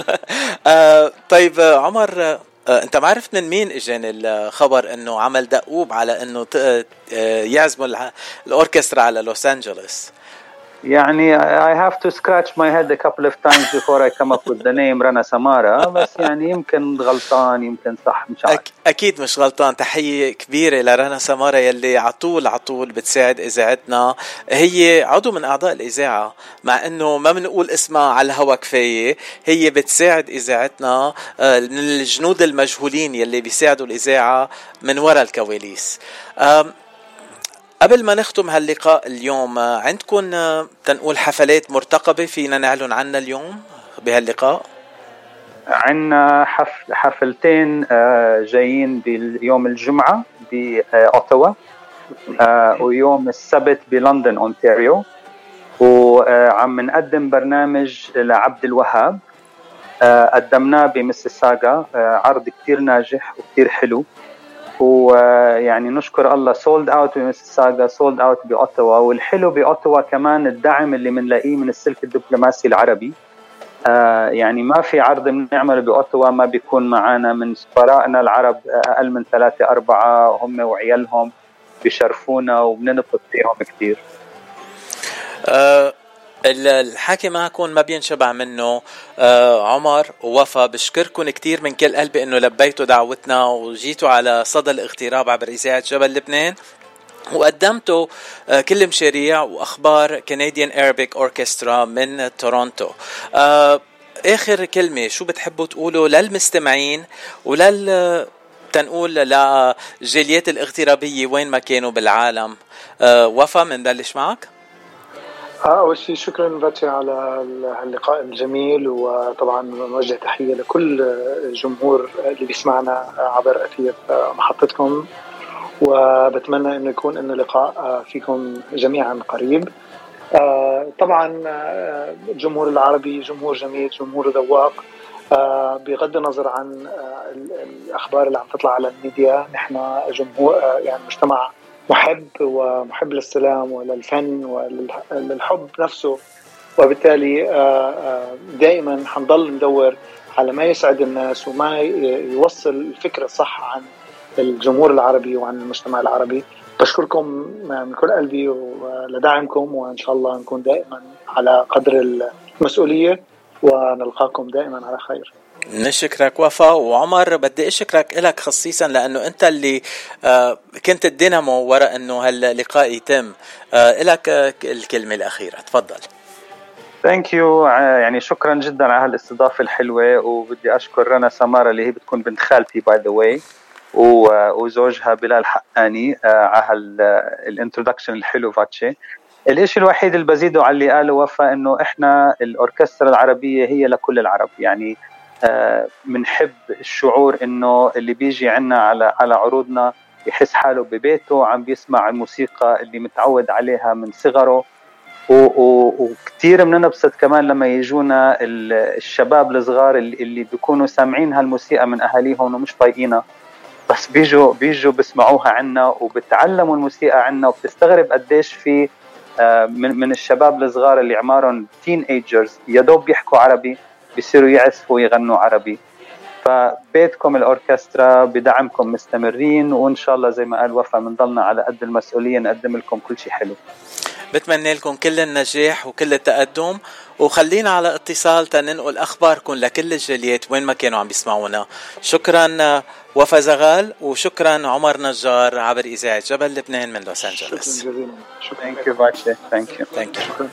طيب عمر، انت ما عرفت من مين اجاني الخبر انه عمل دؤوب على انه يعزموا الاوركسترا على لوس أنجلوس؟ يعني I have to scratch my head a couple of times before I come up with the name رنا سمارة، بس يعني يمكن غلطان يمكن صح، مش عارف. أكيد مش غلطان. تحية كبيرة لرنا سمارة يلي عطول عطول بتساعد إذاعتنا، هي عضو من أعضاء الإذاعة مع أنه ما بنقول اسمها على الهوا كفاية، هي بتساعد إذاعتنا من الجنود المجهولين يلي بيساعدوا الإذاعة من وراء الكواليس. قبل ما نختم هاللقاء اليوم، عندكم تنقول حفلات مرتقبة فينا نعلن عنها اليوم بهاللقاء؟ عندنا حفل حفلتين جايين باليوم الجمعة بأوتاوا، ويوم السبت بلندن أونتاريو، وعم نقدم برنامج لعبد الوهاب قدمناه بميسيساغا، عرض كتير ناجح وكتير حلو، ويعني نشكر الله سولد اوت بميسيساغا، سولد اوت بأوتاوا. والحلو بأوتاوا كمان الدعم اللي منلاقيه من السلك الدبلوماسي العربي، آه يعني ما في عرض بنعمله بأوتاوا ما بيكون معنا من سفرائنا العرب أقل من ثلاثة أربعة، هم وعيالهم بيشرفونا وبننبسط فيهم كتير. آه الحكي معكم ما بينشبع منه. آه عمر ووفا، بشكركم كتير من كل قلبي انه لبيتوا دعوتنا وجيتوا على صدى الاغتراب عبر إذاعة جبل لبنان، وقدمتوا آه كل مشاريع واخبار Canadian Arabic Orchestra من تورونتو. آه اخر كلمة شو بتحبوا تقولوا للمستمعين ولل تنقول لجاليات الاغترابية وين ما كانوا بالعالم؟ آه وفا، منبلش معك. أول شيء شكرا باتشي على اللقاء الجميل، وطبعا نوجه تحية لكل الجمهور اللي بيسمعنا عبر أثير محطتكم، وبتمنى أنه يكون أنه لقاء فيكم جميعا قريب. طبعا الجمهور العربي جمهور جميل، جمهور ذواق، بغض النظر عن الأخبار اللي عم تطلع على الميديا. نحن جمهور يعني مجتمع محب ومحب للسلام وللفن وللحب نفسه، وبالتالي دائما حنضل ندور على ما يسعد الناس وما يوصل الفكرة الصح عن الجمهور العربي وعن المجتمع العربي. بشكركم من كل قلبي ولدعمكم، وإن شاء الله نكون دائما على قدر المسؤولية ونلقاكم دائما على خير. نشكرك وفا. وعمر بدي أشكرك إلك خصيصا لأنه أنت اللي آه كنت الدينامو وراء أنه هاللقاء يتم. آه إلك آه الكلمة الأخيرة، تفضل. Thank you. يعني شكرا جدا على هالاستضافة الحلوة، وبدي أشكر رنا سمارة اللي هي بتكون بنت خالتي by the way، وزوجها بلال حقاني على الانترودكشن الحلو فاتشي. الاشي الوحيد اللي بزيده على اللي قاله وفا انه احنا الاوركسترا العربية هي لكل العرب، يعني بنحب آه الشعور انه اللي بيجي عنا على على عروضنا يحس حاله ببيته عم بيسمع الموسيقى اللي متعود عليها من صغره. وكتير بننبسط كمان لما يجونا الشباب الصغار اللي, اللي بيكونوا سامعين هالموسيقى من أهاليهم ومش طايقينها، بس بيجوا بيجوا بسمعوها عنا وبتعلموا الموسيقى عنا، وبتستغرب قديش في من من الشباب الصغار اللي عمارهم تين ايجرز يا دوب بيحكوا عربي بيصيروا يعزفوا ويغنوا عربي. فبيتكم الأوركسترا بدعمكم مستمرين، وإن شاء الله زي ما قال وفا بنضلنا على قد المسؤولية نقدم لكم كل شيء حلو. بتمنى لكم كل النجاح وكل التقدم، وخلينا على اتصال تننقل أخباركم لكل الجاليات وين ما كانوا عم بيسمعونا. شكرا وفا زغال، وشكرا عمر نجار عبر إذاعة جبل لبنان من لوس أنجلوس. شكرا جزيلا. Thank you Vache. Thank you. Thank you.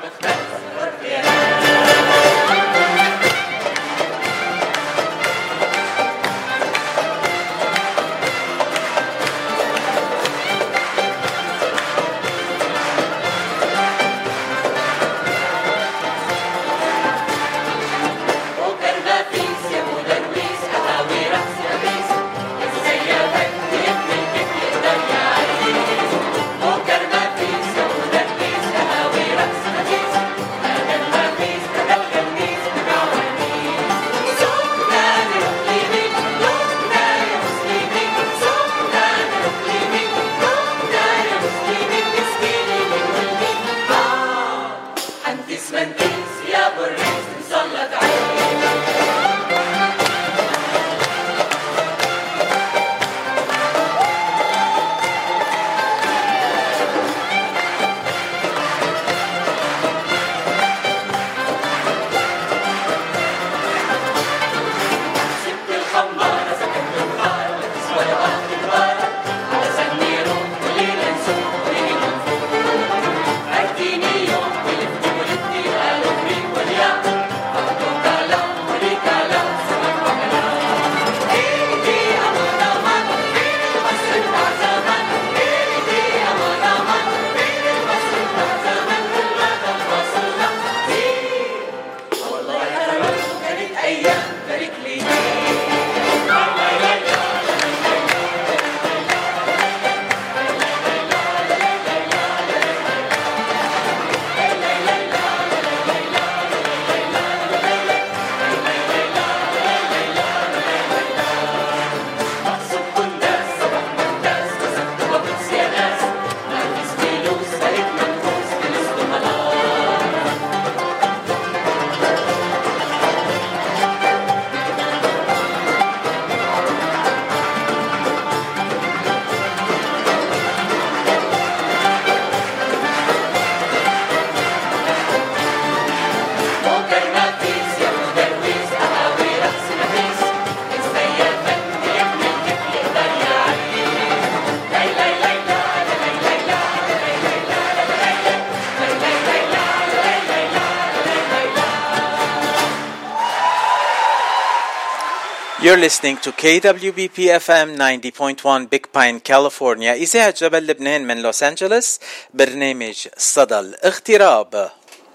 You're listening to K W B P F M ninety point one Big Pine, California. إذاعة جبل لبنان من لوس أنجلوس. برنامج صدى الاغتراب.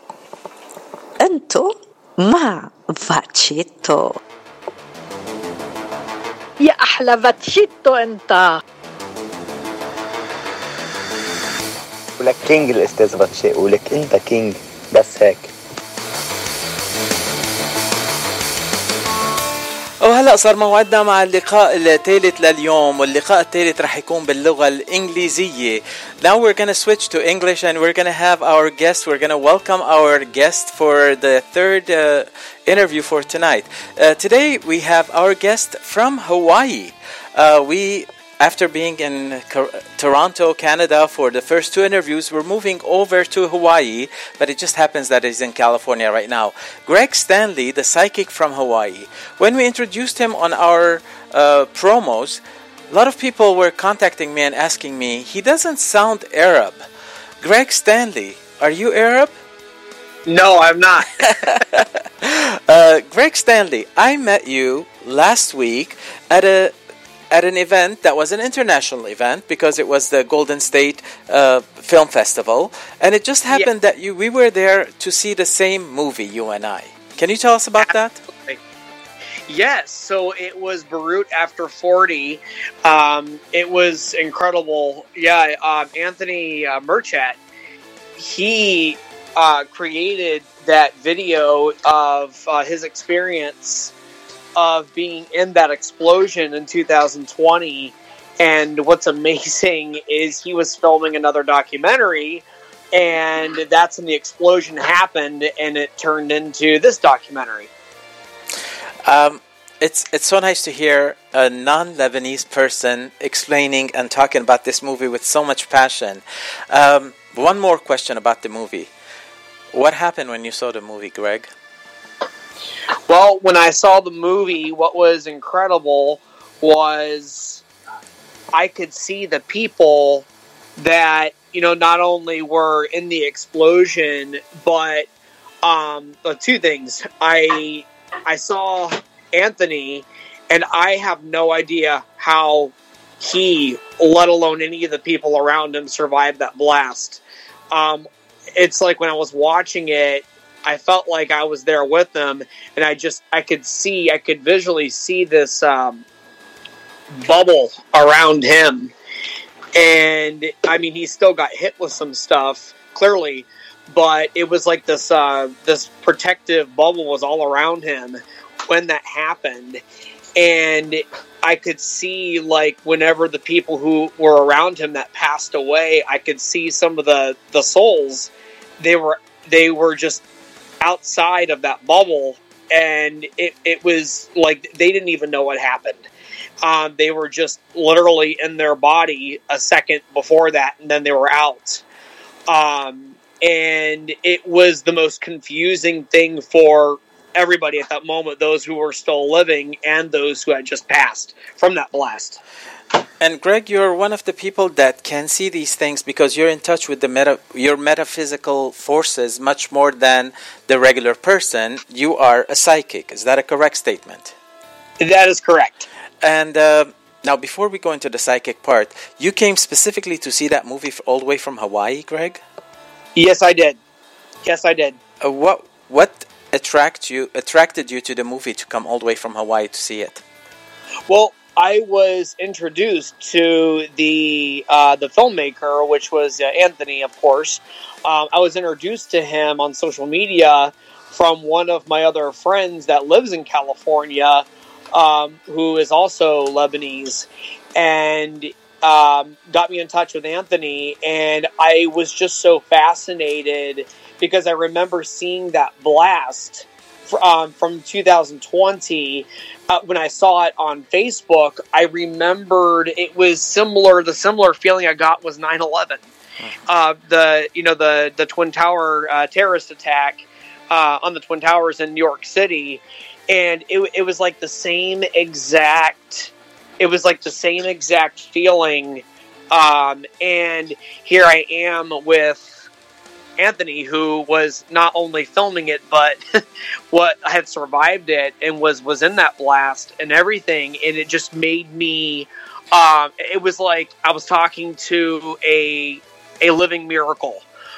أنتو مع فاتشيتو. يا أحلى فاتشيتو أنت. ولك كينج الأستاذ فاتشي، ولك أنت كينج بس هيك. وهلأ صار موعدنا مع اللقاء الثالث لليوم، واللقاء الثالث رح يكون باللغة الإنجليزية. Now we're going to switch to English and we're going to have our guest. We're going to welcome our guest for the third uh, interview for tonight. Uh, today we have our guest from Hawaii. Uh, we After being in Toronto, Canada for the first two interviews, we're moving over to Hawaii, but it just happens that he's in California right now. Greg Stanley, the psychic from Hawaii. When we introduced him on our uh, promos, a lot of people were contacting me and asking me, he doesn't sound Arab. Greg Stanley, are you Arab? No, I'm not. uh, Greg Stanley, I met you last week at a at an event that was an international event because it was the Golden State uh, Film Festival, and it just happened yeah. that you we were there to see the same movie, you and I. Can you tell us about Absolutely. that? Yes, so it was Beirut After forty. Um, it was incredible. Yeah, um, Anthony uh, Murchat, he uh, created that video of uh, his experience of being in that explosion in two thousand twenty. And what's amazing is he was filming another documentary, and that's when the explosion happened, and it turned into this documentary. Um, it's it's so nice to hear a non-Lebanese person explaining and talking about this movie with so much passion. Um, one more question about the movie. What happened when you saw the movie, Greg? Well, when I saw the movie, what was incredible was I could see the people that, you know, not only were in the explosion, but um, the two things. I I saw Anthony, and I have no idea how he, let alone any of the people around him, survived that blast. Um, it's like when I was watching it, I felt like I was there with them, and I just, I could see, I could visually see this um, bubble around him. And, I mean, he still got hit with some stuff, clearly, but it was like this, uh, this protective bubble was all around him when that happened. And I could see, like, whenever the people who were around him that passed away, I could see some of the, the souls. They were, they were just outside of that bubble, and it, it was like they didn't even know what happened. Um, they were just literally in their body a second before that, and then they were out. Um, and it was the most confusing thing for everybody at that moment, those who were still living and those who had just passed from that blast. And Greg, you're one of the people that can see these things because you're in touch with the meta, your metaphysical forces much more than the regular person. You are a psychic. Is that a correct statement? That is correct. And uh, now, before we go into the psychic part, you came specifically to see that movie all the way from Hawaii, Greg? Yes, I did. Yes, I did. Uh, what what attract you attracted you to the movie to come all the way from Hawaii to see it? Well, I was introduced to the uh, the filmmaker, which was uh, Anthony, of course. Um, I was introduced to him on social media from one of my other friends that lives in California, um, who is also Lebanese, and um, got me in touch with Anthony. And I was just so fascinated because I remember seeing that blast Um, from two thousand twenty, uh, when I saw it on Facebook. I remembered it was similar. The similar feeling I got was nine eleven, uh, the you know the the Twin Tower uh, terrorist attack uh, on the Twin Towers in New York City, and it it was like the same exact. It was like the same exact feeling, um, and here I am with Anthony, who was not only filming it, but what had survived it and was, was in that blast and everything. And it just made me, um, it was like I was talking to a, a living miracle.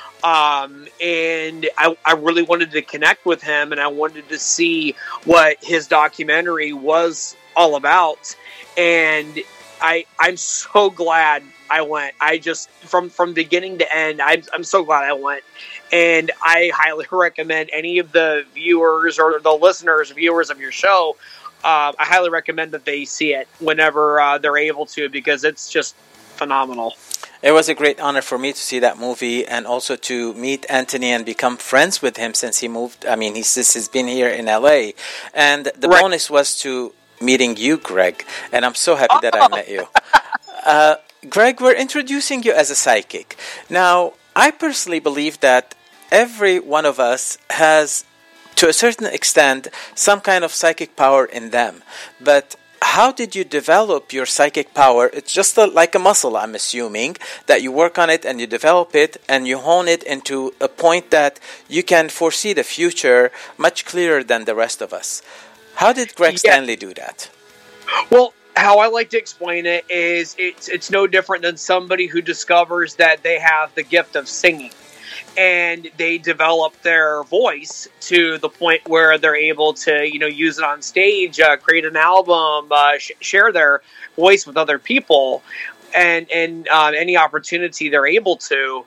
Um, and I, I really wanted to connect with him, and I wanted to see what his documentary was all about. And I, I'm so glad I went. I just, from, from beginning to end, I'm, I'm so glad I went. And I highly recommend any of the viewers or the listeners, viewers of your show, uh, I highly recommend that they see it whenever uh, they're able to, because it's just phenomenal. It was a great honor for me to see that movie and also to meet Anthony and become friends with him since he moved. I mean, he's, he's been here in L A. And the right. bonus was to meeting you, Greg. And I'm so happy oh. that I met you. Uh, Greg, we're introducing you as a psychic. Now, I personally believe that every one of us has, to a certain extent, some kind of psychic power in them. But how did you develop your psychic power? It's just a, like a muscle, I'm assuming, that you work on it and you develop it and you hone it into a point that you can foresee the future much clearer than the rest of us. How did Greg yeah. Stanley do that? Well, how I like to explain it is it's it's no different than somebody who discovers that they have the gift of singing, and they develop their voice to the point where they're able to, you know, use it on stage, uh, create an album, uh, sh- share their voice with other people, and and uh, any opportunity they're able to.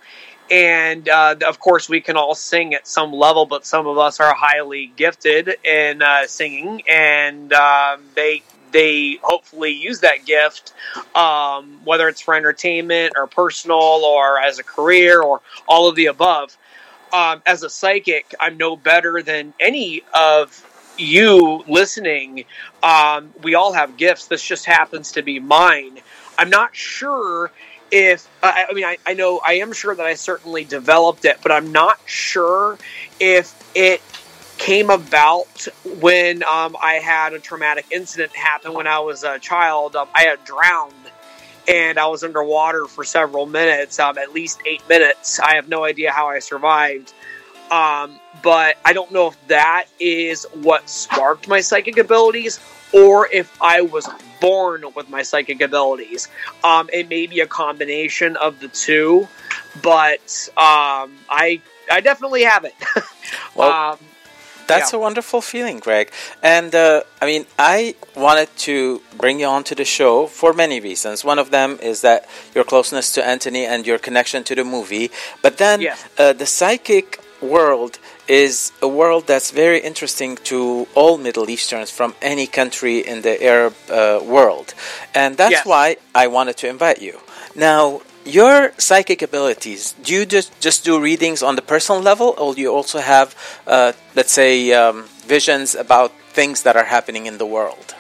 And uh, of course, we can all sing at some level, but some of us are highly gifted in uh, singing, and um, they they hopefully use that gift, um, whether it's for entertainment or personal or as a career or all of the above. Um, as a psychic, I'm no better than any of you listening. Um, we all have gifts. This just happens to be mine. I'm not sure if, uh, I mean, I, I know, I am sure that I certainly developed it, but I'm not sure if it came about when um, I had a traumatic incident happen when I was a child. Um, I had drowned and I was underwater for several minutes, um, at least eight minutes. I have no idea how I survived. Um, but I don't know if that is what sparked my psychic abilities or if I was born with my psychic abilities. Um, it may be a combination of the two, but um, I I definitely have it. Well, um, that's yeah. a wonderful feeling, Greg. And uh, I mean, I wanted to bring you onto the show for many reasons. One of them is that your closeness to Anthony and your connection to the movie. But then Yeah. uh, the psychic world is a world that's very interesting to all Middle Easterns from any country in the Arab uh, world. And that's Yes. why I wanted to invite you. Now, your psychic abilities, do you just, just do readings on the personal level, or do you also have, uh, let's say, um, visions about things that are happening in the world?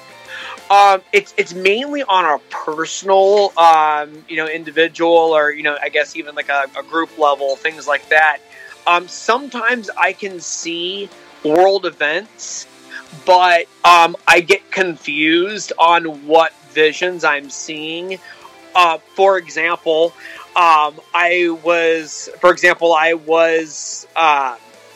Um, it's it's mainly on a personal, um, you know, individual, or you know, I guess even like a, a group level, things like that. Um, sometimes I can see world events, but um, I get confused on what visions I'm seeing. Uh, for example, um, I was, for example, I was, uh,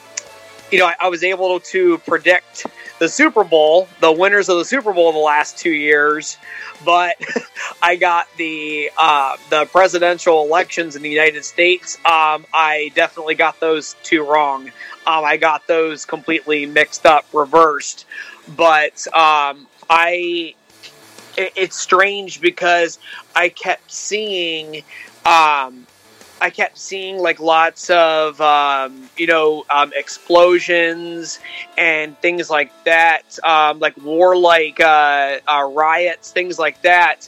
you know, I, I was able to predict the Super Bowl, the winners of the Super Bowl the last two years, but I got the uh, the presidential elections in the United States. Um, I definitely got those two wrong. Um, I got those completely mixed up, reversed. But um, I, it, it's strange because I kept seeing. Um, I kept seeing like lots of, um, you know, um, explosions and things like that, um, like warlike uh, uh, riots, things like that.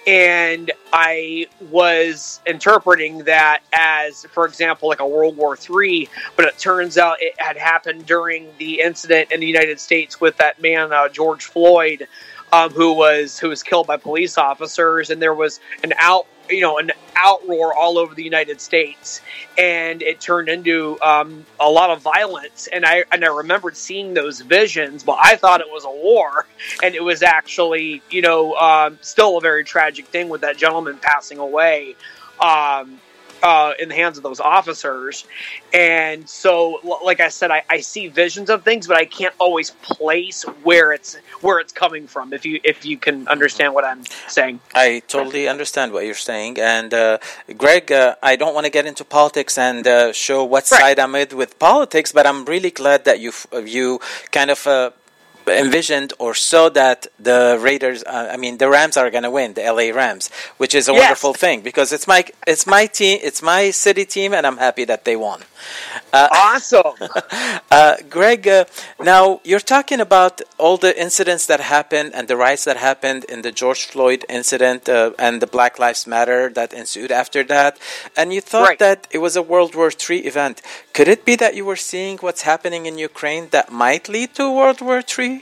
And I was interpreting that as, for example, like a World War Three, but it turns out it had happened during the incident in the United States with that man, uh, George Floyd, um, who was who was killed by police officers, and there was an out. you know, an outroar all over the United States, and it turned into um, a lot of violence. And I and I remembered seeing those visions, but I thought it was a war, and it was actually, you know, um, still a very tragic thing with that gentleman passing away um, uh, in the hands of those officers. And so, like I said, I, I see visions of things, but I can't always place where it's where it's coming from. If you if you can understand what I'm saying, I totally understand what you're saying. And uh, Greg, uh, I don't want to get into politics and uh, show what Right. side I'm with with politics, but I'm really glad that you you kind of. Uh, envisioned or saw that the Raiders, uh, I mean the Rams are going to win, the L A Rams, which is a Yes. wonderful thing because it's my it's my team, it's my city team, and I'm happy that they won. Uh, awesome. uh, Greg, uh, now you're talking about all the incidents that happened and the riots that happened in the George Floyd incident uh, and the Black Lives Matter that ensued after that, and you thought Right. that it was a World War Three event. Could it be that you were seeing what's happening in Ukraine that might lead to World War Three?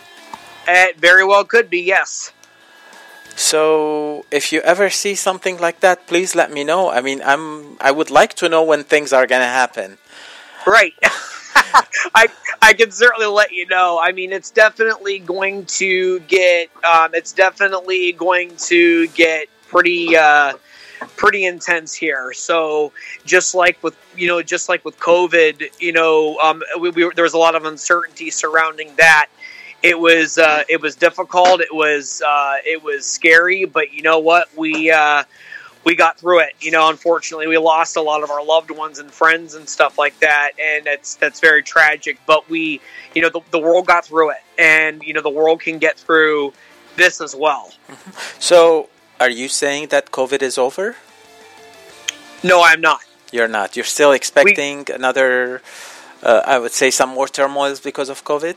It very well could be, yes. So, if you ever see something like that, please let me know. I mean, I'm I would like to know when things are going to happen. Right. I I can certainly let you know. I mean, it's definitely going to get um, it's definitely going to get pretty uh, pretty intense here. So just like with you know just like with COVID, you know, um, we, we, there was a lot of uncertainty surrounding that. It was uh, it was difficult. It was uh, it was scary, but you know what? We uh, we got through it. You know, unfortunately, we lost a lot of our loved ones and friends and stuff like that, and it's that's very tragic. But we, you know, the, the world got through it, and you know, the world can get through this as well. So, are you saying that COVID is over? No, I'm not. You're not. You're still expecting we, another, uh, I would say, some more turmoils because of COVID?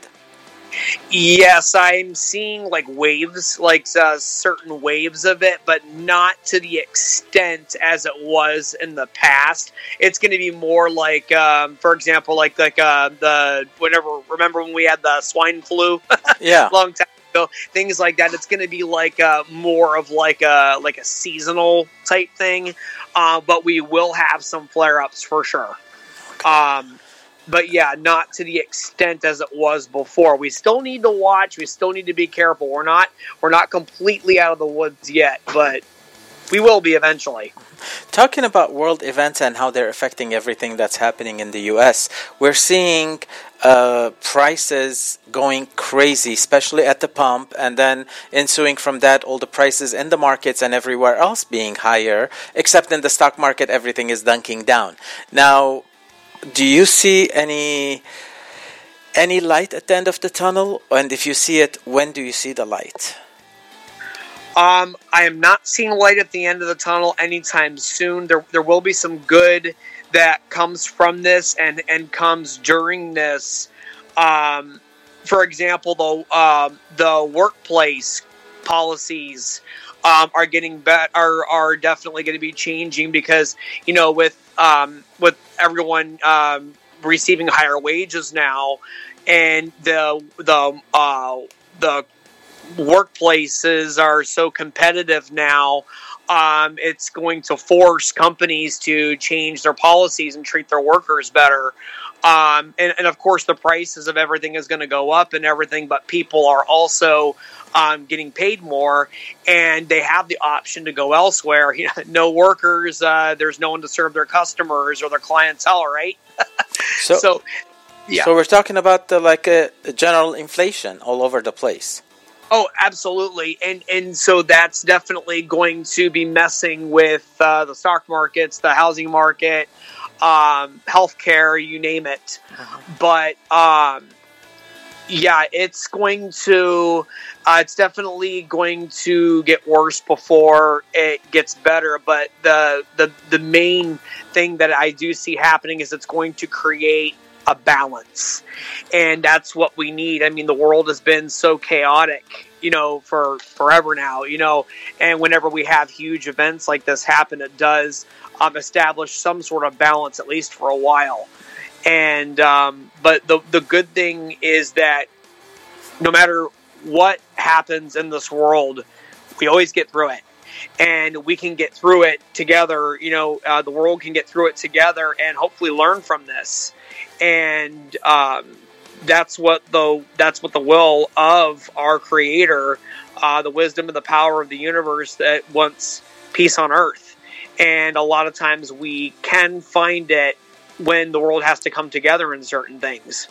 Yes, I'm seeing like waves, like uh, certain waves of it, but not to the extent as it was in the past. It's going to be more like, um, for example, like like uh, the whenever remember when we had the swine flu, yeah, long time ago, things like that. It's going to be like uh, more of like a like a seasonal type thing, uh, but we will have some flare ups for sure. Okay. Um, But yeah, not to the extent as it was before. We still need to watch. We still need to be careful. We're not we're not completely out of the woods yet, but we will be eventually. Talking about world events and how they're affecting everything that's happening in the U S, we're seeing uh, prices going crazy, especially at the pump, and then ensuing from that, all the prices in the markets and everywhere else being higher, except in the stock market, everything is dunking down. Now, do you see any any light at the end of the tunnel? And if you see it, when do you see the light? Um, I am not seeing light at the end of the tunnel anytime soon. There there will be some good that comes from this and, and comes during this. Um, for example, the um, the workplace policies um, are getting bet are are definitely going to be changing because, you know, with um, with everyone um, receiving higher wages now, and the the uh, the workplaces are so competitive now, um, it's going to force companies to change their policies and treat their workers better. Um, and, and of course, the prices of everything is going to go up and everything, but people are also um, getting paid more, and they have the option to go elsewhere. You know, no workers, uh, there's no one to serve their customers or their clientele, right? so, so, yeah. So we're talking about the, like a, a general inflation all over the place. Oh, absolutely. And and so that's definitely going to be messing with uh, the stock markets, the housing market, um, healthcare, you name it. Uh-huh. But um, yeah, it's going to, uh, it's definitely going to get worse before it gets better. But the, the, the main thing that I do see happening is it's going to create a balance, and that's what we need. I mean, the world has been so chaotic, you know, for forever now, you know, and whenever we have huge events like this happen, it does um, establish some sort of balance, at least for a while. And um, but the the good thing is that no matter what happens in this world, we always get through it. And we can get through it together. You know, uh, the world can get through it together and hopefully learn from this. And um, that's what the that's what the will of our Creator, uh, the wisdom and the power of the universe that wants peace on earth. And a lot of times we can find it when the world has to come together in certain things.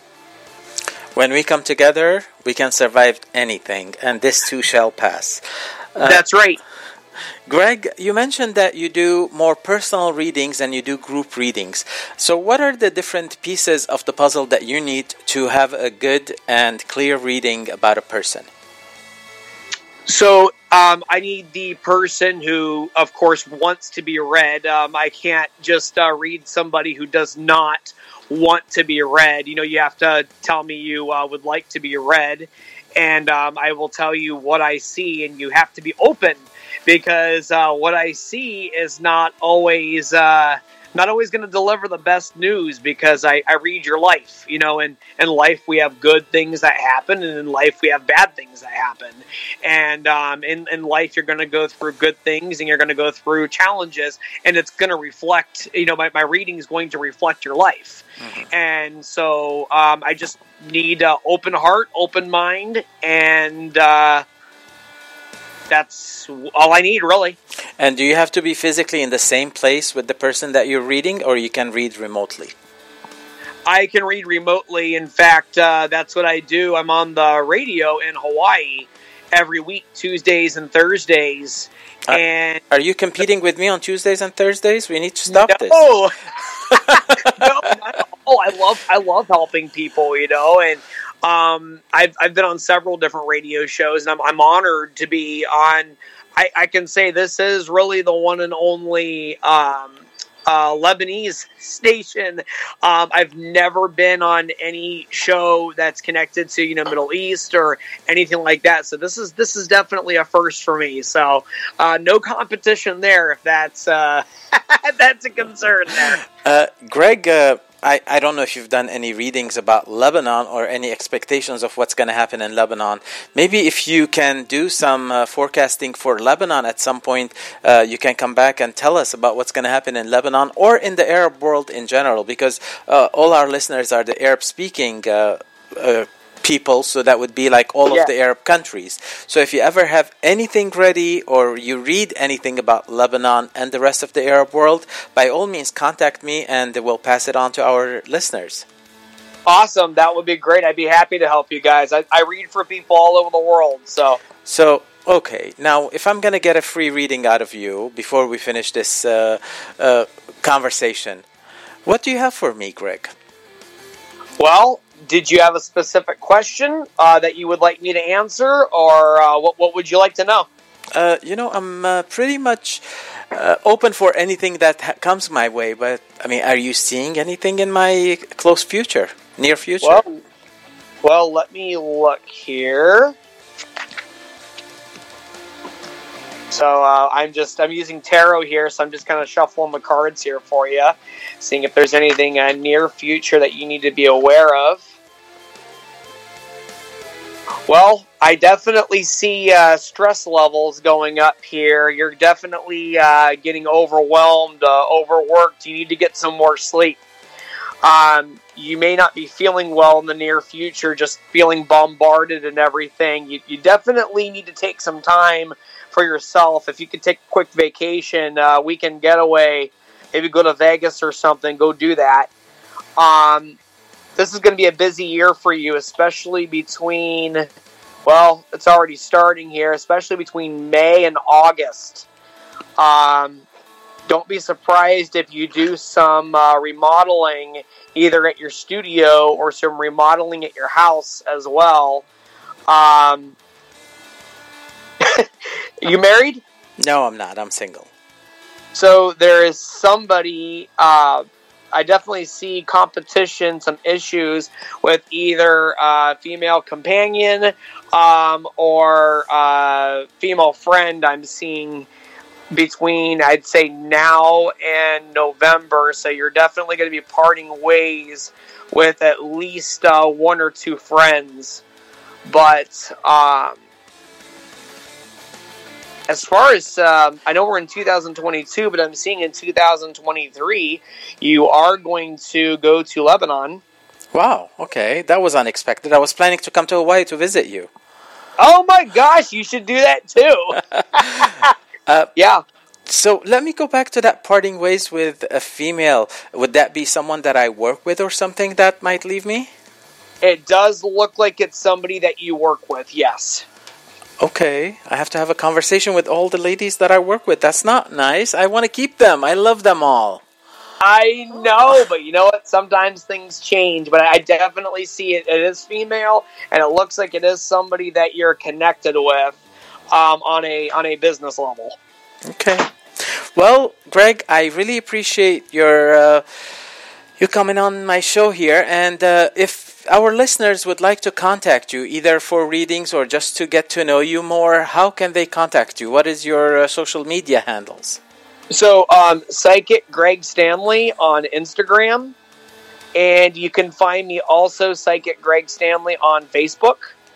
When we come together, we can survive anything, and this too shall pass. Uh, that's right. Greg, you mentioned that you do more personal readings and you do group readings. So what are the different pieces of the puzzle that you need to have a good and clear reading about a person? So um, I need the person who, of course, wants to be read. Um, I can't just uh, read somebody who does not want to be read. You know, you have to tell me you uh, would like to be read, and um, I will tell you what I see, and you have to be open. Because uh, what I see is not always uh, not always going to deliver the best news, because I, I read your life, you know, and in life we have good things that happen, and in life we have bad things that happen. And um, in, in life you're going to go through good things and you're going to go through challenges, and it's going to reflect, you know, my, my reading is going to reflect your life. Mm-hmm. And so um, I just need an open heart, open mind, and uh that's all I need, really. And do you have to be physically in the same place with the person that you're reading, or you can read remotely? I can read remotely. In fact, uh, that's what I do. I'm on the radio in Hawaii every week, Tuesdays and Thursdays. Uh, and are you competing with me on Tuesdays and Thursdays? We need to stop no. this. no, not at all. I love, I love helping people, you know, and Um, I've I've been on several different radio shows, and I'm I'm honored to be on. I, I can say this is really the one and only um, uh, Lebanese station. Um, I've never been on any show that's connected to, you know, Middle East or anything like that. So this is this is definitely a first for me. So uh, no competition there, if that's uh, that's a concern there. Uh, Greg, uh, I, I don't know if you've done any readings about Lebanon or any expectations of what's going to happen in Lebanon. Maybe if you can do some uh, forecasting for Lebanon at some point, uh, you can come back and tell us about what's going to happen in Lebanon or in the Arab world in general, because uh, all our listeners are the Arab-speaking uh, uh people, so that would be like all yeah. of the Arab countries. So if you ever have anything ready or you read anything about Lebanon and the rest of the Arab world, by all means contact me and we'll pass it on to our listeners. Awesome. That would be great. I'd be happy to help you guys. I, I read for people all over the world. So, so okay. Now, if I'm going to get a free reading out of you before we finish this uh, uh, conversation, what do you have for me, Greg? Well, did you have a specific question uh, that you would like me to answer, or uh, what, what would you like to know? Uh, you know, I'm uh, pretty much uh, open for anything that ha- comes my way, but, I mean, are you seeing anything in my close future, near future? Well, well let me look here. So uh, I'm just, I'm using tarot here, so I'm just kind of shuffling the cards here for you, seeing if there's anything uh, near future that you need to be aware of. Well, I definitely see uh, stress levels going up here. You're definitely uh, getting overwhelmed, uh, overworked. You need to get some more sleep. Um, you may not be feeling well in the near future, just feeling bombarded and everything. You, you definitely need to take some time for yourself. If you could take a quick vacation, uh, weekend getaway, maybe go to Vegas or something, go do that. Um, this is going to be a busy year for you, especially between, well, it's already starting here, especially between May and August. Um, don't be surprised if you do some uh, remodeling either at your studio or some remodeling at your house as well. Um, you married? No, I'm not. I'm single. So there is somebody, uh, I definitely see competition, some issues with either a female companion um, or a female friend I'm seeing between, I'd say, now and November. So you're definitely going to be parting ways with at least uh, one or two friends. But um, as far as, um, I know we're in two thousand twenty-two, but I'm seeing in two thousand twenty-three, you are going to go to Lebanon. Wow, okay. That was unexpected. I was planning to come to Hawaii to visit you. Oh my gosh, you should do that too. uh, yeah. So let me go back to that parting ways with a female. Would that be someone that I work with or something that might leave me? It does look like it's somebody that you work with, yes. Okay, I have to have a conversation with all the ladies that I work with. That's not nice. I want to keep them. I love them all. I know, but you know what? Sometimes things change, but I definitely see it. It is female, and it looks like it is somebody that you're connected with um, on a on a business level. Okay. Well, Greg, I really appreciate your uh, you coming on my show here, and uh, if our listeners would like to contact you, either for readings or just to get to know you more, how can they contact you? What is your uh, social media handles? So, um, Psychic Greg Stanley on Instagram, and you can find me also Psychic Greg Stanley on Facebook.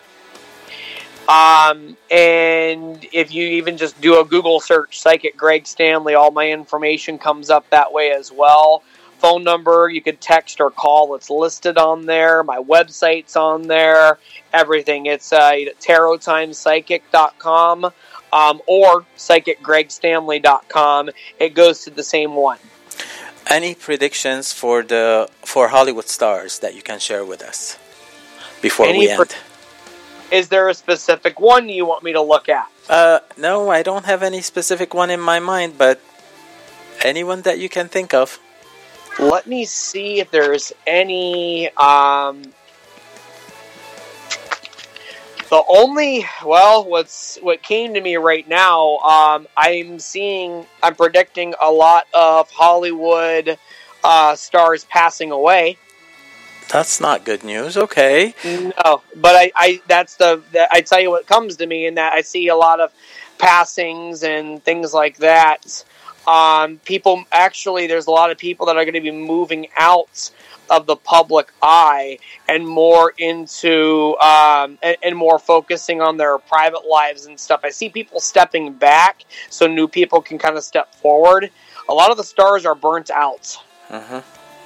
Um, and if you even just do a Google search, Psychic Greg Stanley, all my information comes up that way as well. Phone number, you could text or call, it's listed on there. My website's on there. Everything. It's uh, tarot times psychic dot com um, or psychic greg stanley dot com. It goes to the same one. Any predictions for the for Hollywood stars that you can share with us before Any we end? Pre- Is there a specific one you want me to look at? Uh, no, I don't have any specific one in my mind, but anyone that you can think of. Let me see if there's any. Um, The only, well, what's what came to me right now, um, I'm seeing, I'm predicting a lot of Hollywood uh, stars passing away. That's not good news. Okay. No, but I, I that's the, the, I tell you what comes to me in that I see a lot of passings and things like that. Um, people, actually, there's a lot of people that are going to be moving out of the public eye and more into um, and, and more focusing on their private lives and stuff. I see people stepping back so new people can kind of step forward. A lot of the stars are burnt out. Mm-hmm.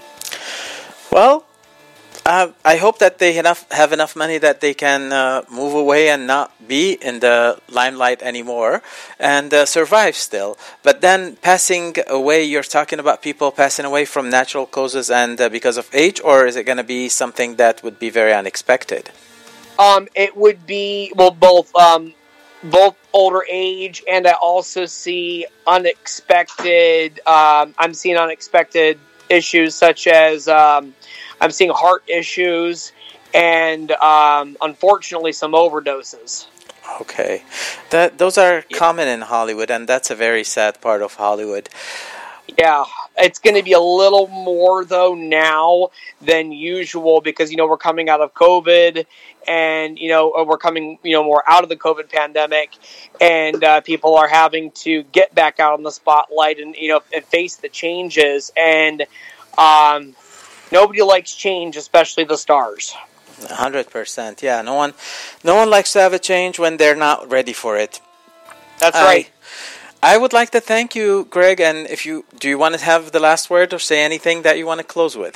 Well, uh, I hope that they enough have enough money that they can uh, move away and not be in the limelight anymore and uh, survive still. But then passing away, you're talking about people passing away from natural causes and uh, because of age, or is it going to be something that would be very unexpected? Um, it would be, well, both, um, both older age, and I also see unexpected, um, I'm seeing unexpected issues such as, um, I'm seeing heart issues and, um, unfortunately, some overdoses. Okay. That those are yeah. common in Hollywood, and that's a very sad part of Hollywood. Yeah, it's going to be a little more, though, now than usual because, you know, we're coming out of COVID and, you know, we're coming, you know, more out of the COVID pandemic and uh, people are having to get back out on the spotlight and, you know, and face the changes. And um, nobody likes change, especially the stars. one hundred percent. Yeah, no one no one likes to have a change when they're not ready for it. That's I, right. I would like to thank you, Greg, and if you do you want to have the last word or say anything that you want to close with?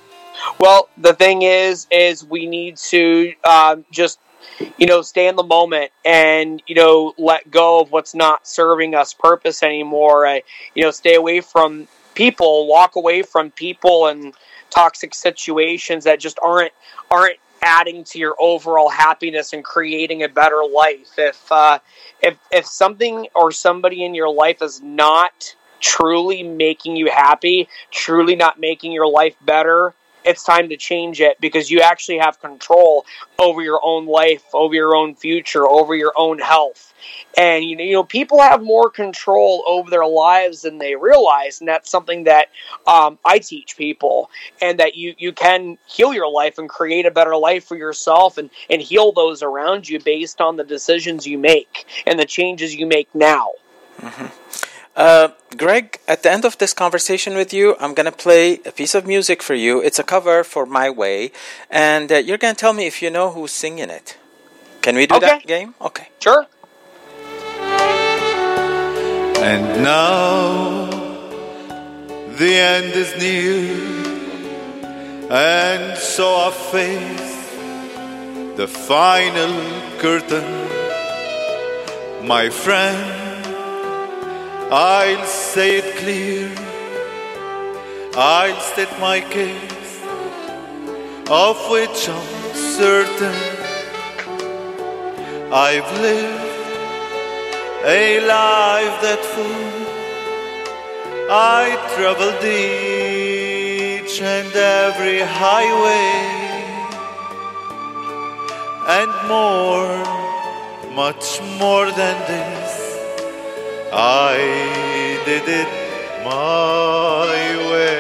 Well, the thing is, is we need to um, just, you know, stay in the moment and, you know, let go of what's not serving us purpose anymore. Uh, you know, stay away from people, walk away from people and toxic situations that just aren't aren't adding to your overall happiness and creating a better life. If uh, if if something or somebody in your life is not truly making you happy, truly not making your life better, it's time to change it because you actually have control over your own life, over your own future, over your own health. And, you know, you know, people have more control over their lives than they realize. And that's something that um, I teach people, and that you, you can heal your life and create a better life for yourself and, and heal those around you based on the decisions you make and the changes you make now. Mm-hmm. Uh, Greg, at the end of this conversation with you, I'm going to play a piece of music for you. It's a cover for My Way, and uh, you're going to tell me if you know who's singing it. Can we do okay. that game? Okay. Sure. And now the end is near, and so I face the final curtain. My friend, I'll say it clear, I'll state my case, of which I'm certain. I've lived a life that full, I traveled each and every highway, and more, much more than this, I did it my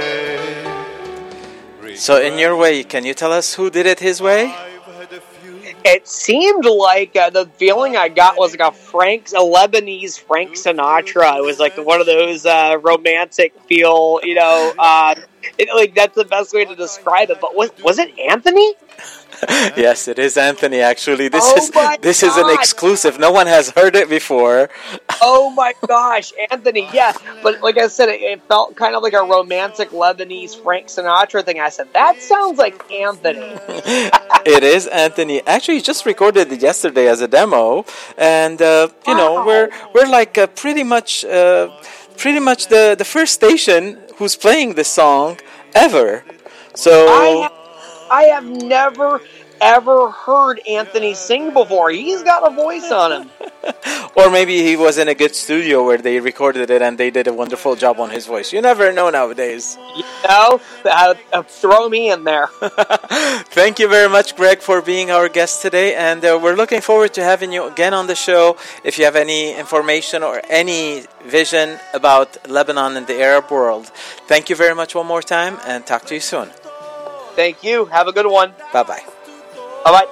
way. So in your way, can you tell us who did it his way? It seemed like uh, the feeling I got was like a Frank, a Lebanese Frank Sinatra. It was like one of those uh, romantic feel, you know. Uh, it, like that's the best way to describe it. But was was it Anthony? Yes, it is Anthony. Actually, this oh is this God. is an exclusive. No one has heard it before. Oh my gosh, Anthony! Yeah, but like I said, it, it felt kind of like a romantic Lebanese Frank Sinatra thing. I said that sounds like Anthony. It is Anthony. Actually, he just recorded it yesterday as a demo, and uh, you wow. know we're we're like uh, pretty much uh, pretty much the the first station who's playing this song ever. So. I have, I have never ever heard Anthony sing before. He's got a voice on him. Or maybe he was in a good studio where they recorded it and they did a wonderful job on his voice. You never know nowadays. You know, uh, uh, throw me in there. Thank you very much, Greg, for being our guest today. And uh, we're looking forward to having you again on the show. If you have any information or any vision about Lebanon and the Arab world. Thank you very much one more time and talk to you soon. Thank you. Have a good one. Bye-bye. Bye-bye.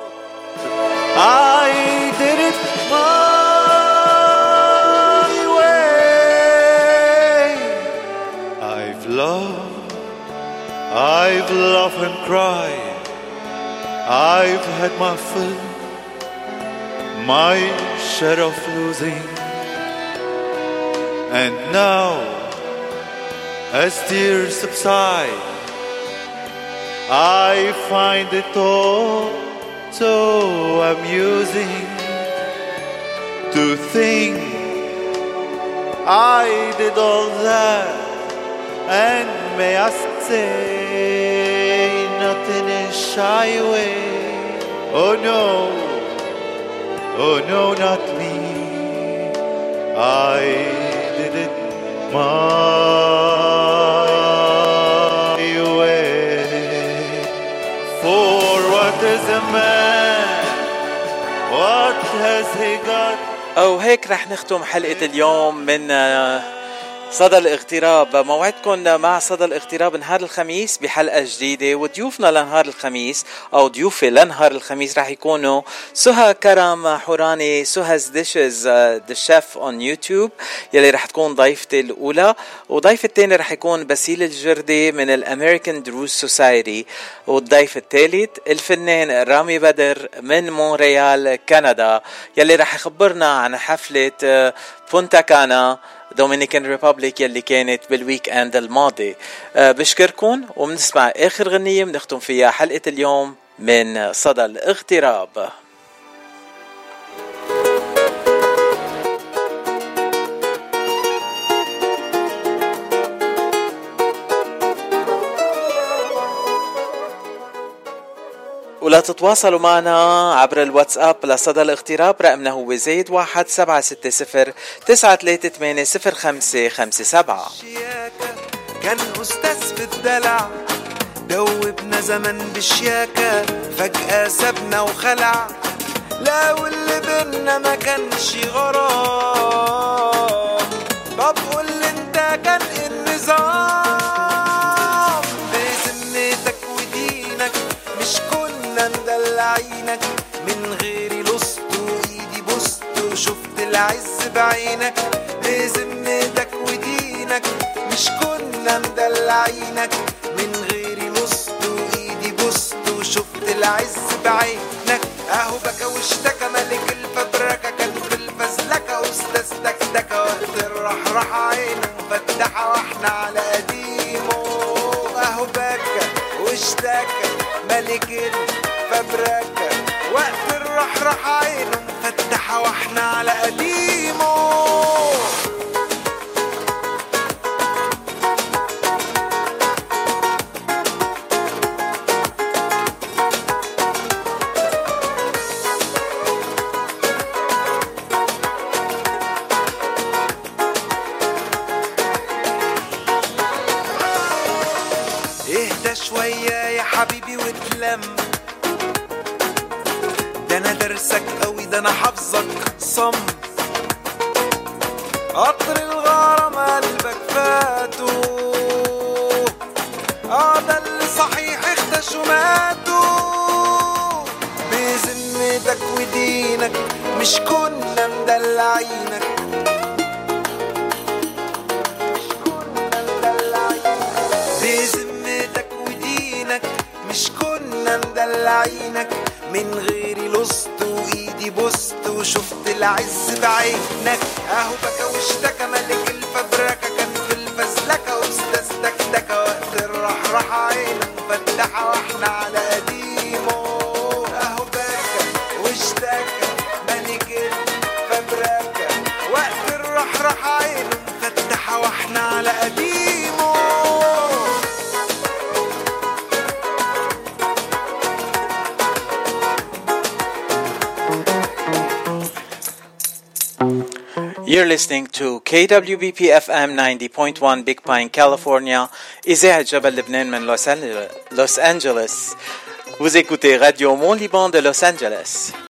I did it my way. I've loved, I've laughed and cried. I've had my fill, my share of losing. And now, as tears subside, I find it all so amusing to think I did all that, and may I say, not in a shy way. Oh no, oh no, not me. I did it my way. For what is a man? What has he got? أو هيك رح نختم حلقة اليوم من صدى الاغتراب. موعدكم مع صدى الاغتراب نهار الخميس بحلقة جديدة، وضيوفنا لنهار الخميس أو ضيوفي لنهار الخميس رح يكونوا سهى كرم حوراني، سها's dishes the chef on YouTube يلي رح تكون ضيفتي الأولى، وضيف الثاني رح يكون باسيل الجردي من الأمريكان دروز سوسايتي، والضيف الثالث الفنان رامي بدر من مونريال كندا يلي رح يخبرنا عن حفلة بونتا كانا دومينيكان ريبابليك يلي كانت بالويك اند الماضي. أه بشكركم، وبنسمع اخر غنية بنختم فيها حلقة اليوم من صدى الاغتراب. ولا تتواصلوا معنا عبر الواتساب لصدى الاغتراب، رقمنا هو زيد واحد سبعة ستة صفر تسعة ثلاثة ثمانية صفر خمسة خمسة سبعة. كان أستاذ في الدلع، دوبنا زمن بالشياكة، فجأة سابنا وخلع، لا واللي بينا ما كانش غرام. طب قول لي انت كان النظام بذمتك ودينك، مش كنا مدلعينك من غيري لصت وايدي بوست وشفت العز بعينك. بذمتك ودينك مش كنا مدلعينك من غيري لصت وايدي بوست وشفت العز بعينك. اهو بكى واشتكى ملك الفبركة، كان في الفزلكة استاذ دكدكة، وقت الرحرح عينه مفتحة واحنا على قديمه. اهو بكى واشتكى ملك الفبركة، وقت الرحرح عينه مفتحة واحنا على قديمه. شوية يا حبيبي واتلم، ده انا درسك قوي، ده انا حافظك صم. قطر الغرام قلبك فاتو، اه ده اللي صحيح اختشوا ماتوا. بذمتك ودينك مش كنا مدلعينك، مش كنا مدلعينك من غيري لصت وايدي بوست وشفت العز بعينك. اهو بكى واشتكى ملك الفبركة، كان في الفزلكة استاذ دكدكة، وقت الرحرح عينه مفتحة واحنا على قديمه. اهو بكى واشتكى ملك الفبركة، وقت الرحرح عينه مفتحة واحنا على قديمه. You're listening to K W B P F M ninety point one Big Pine, California, إذاعة جبل لبنان من لوس أنجلوس. Vous écoutez Radio Mont Liban de Los Angeles.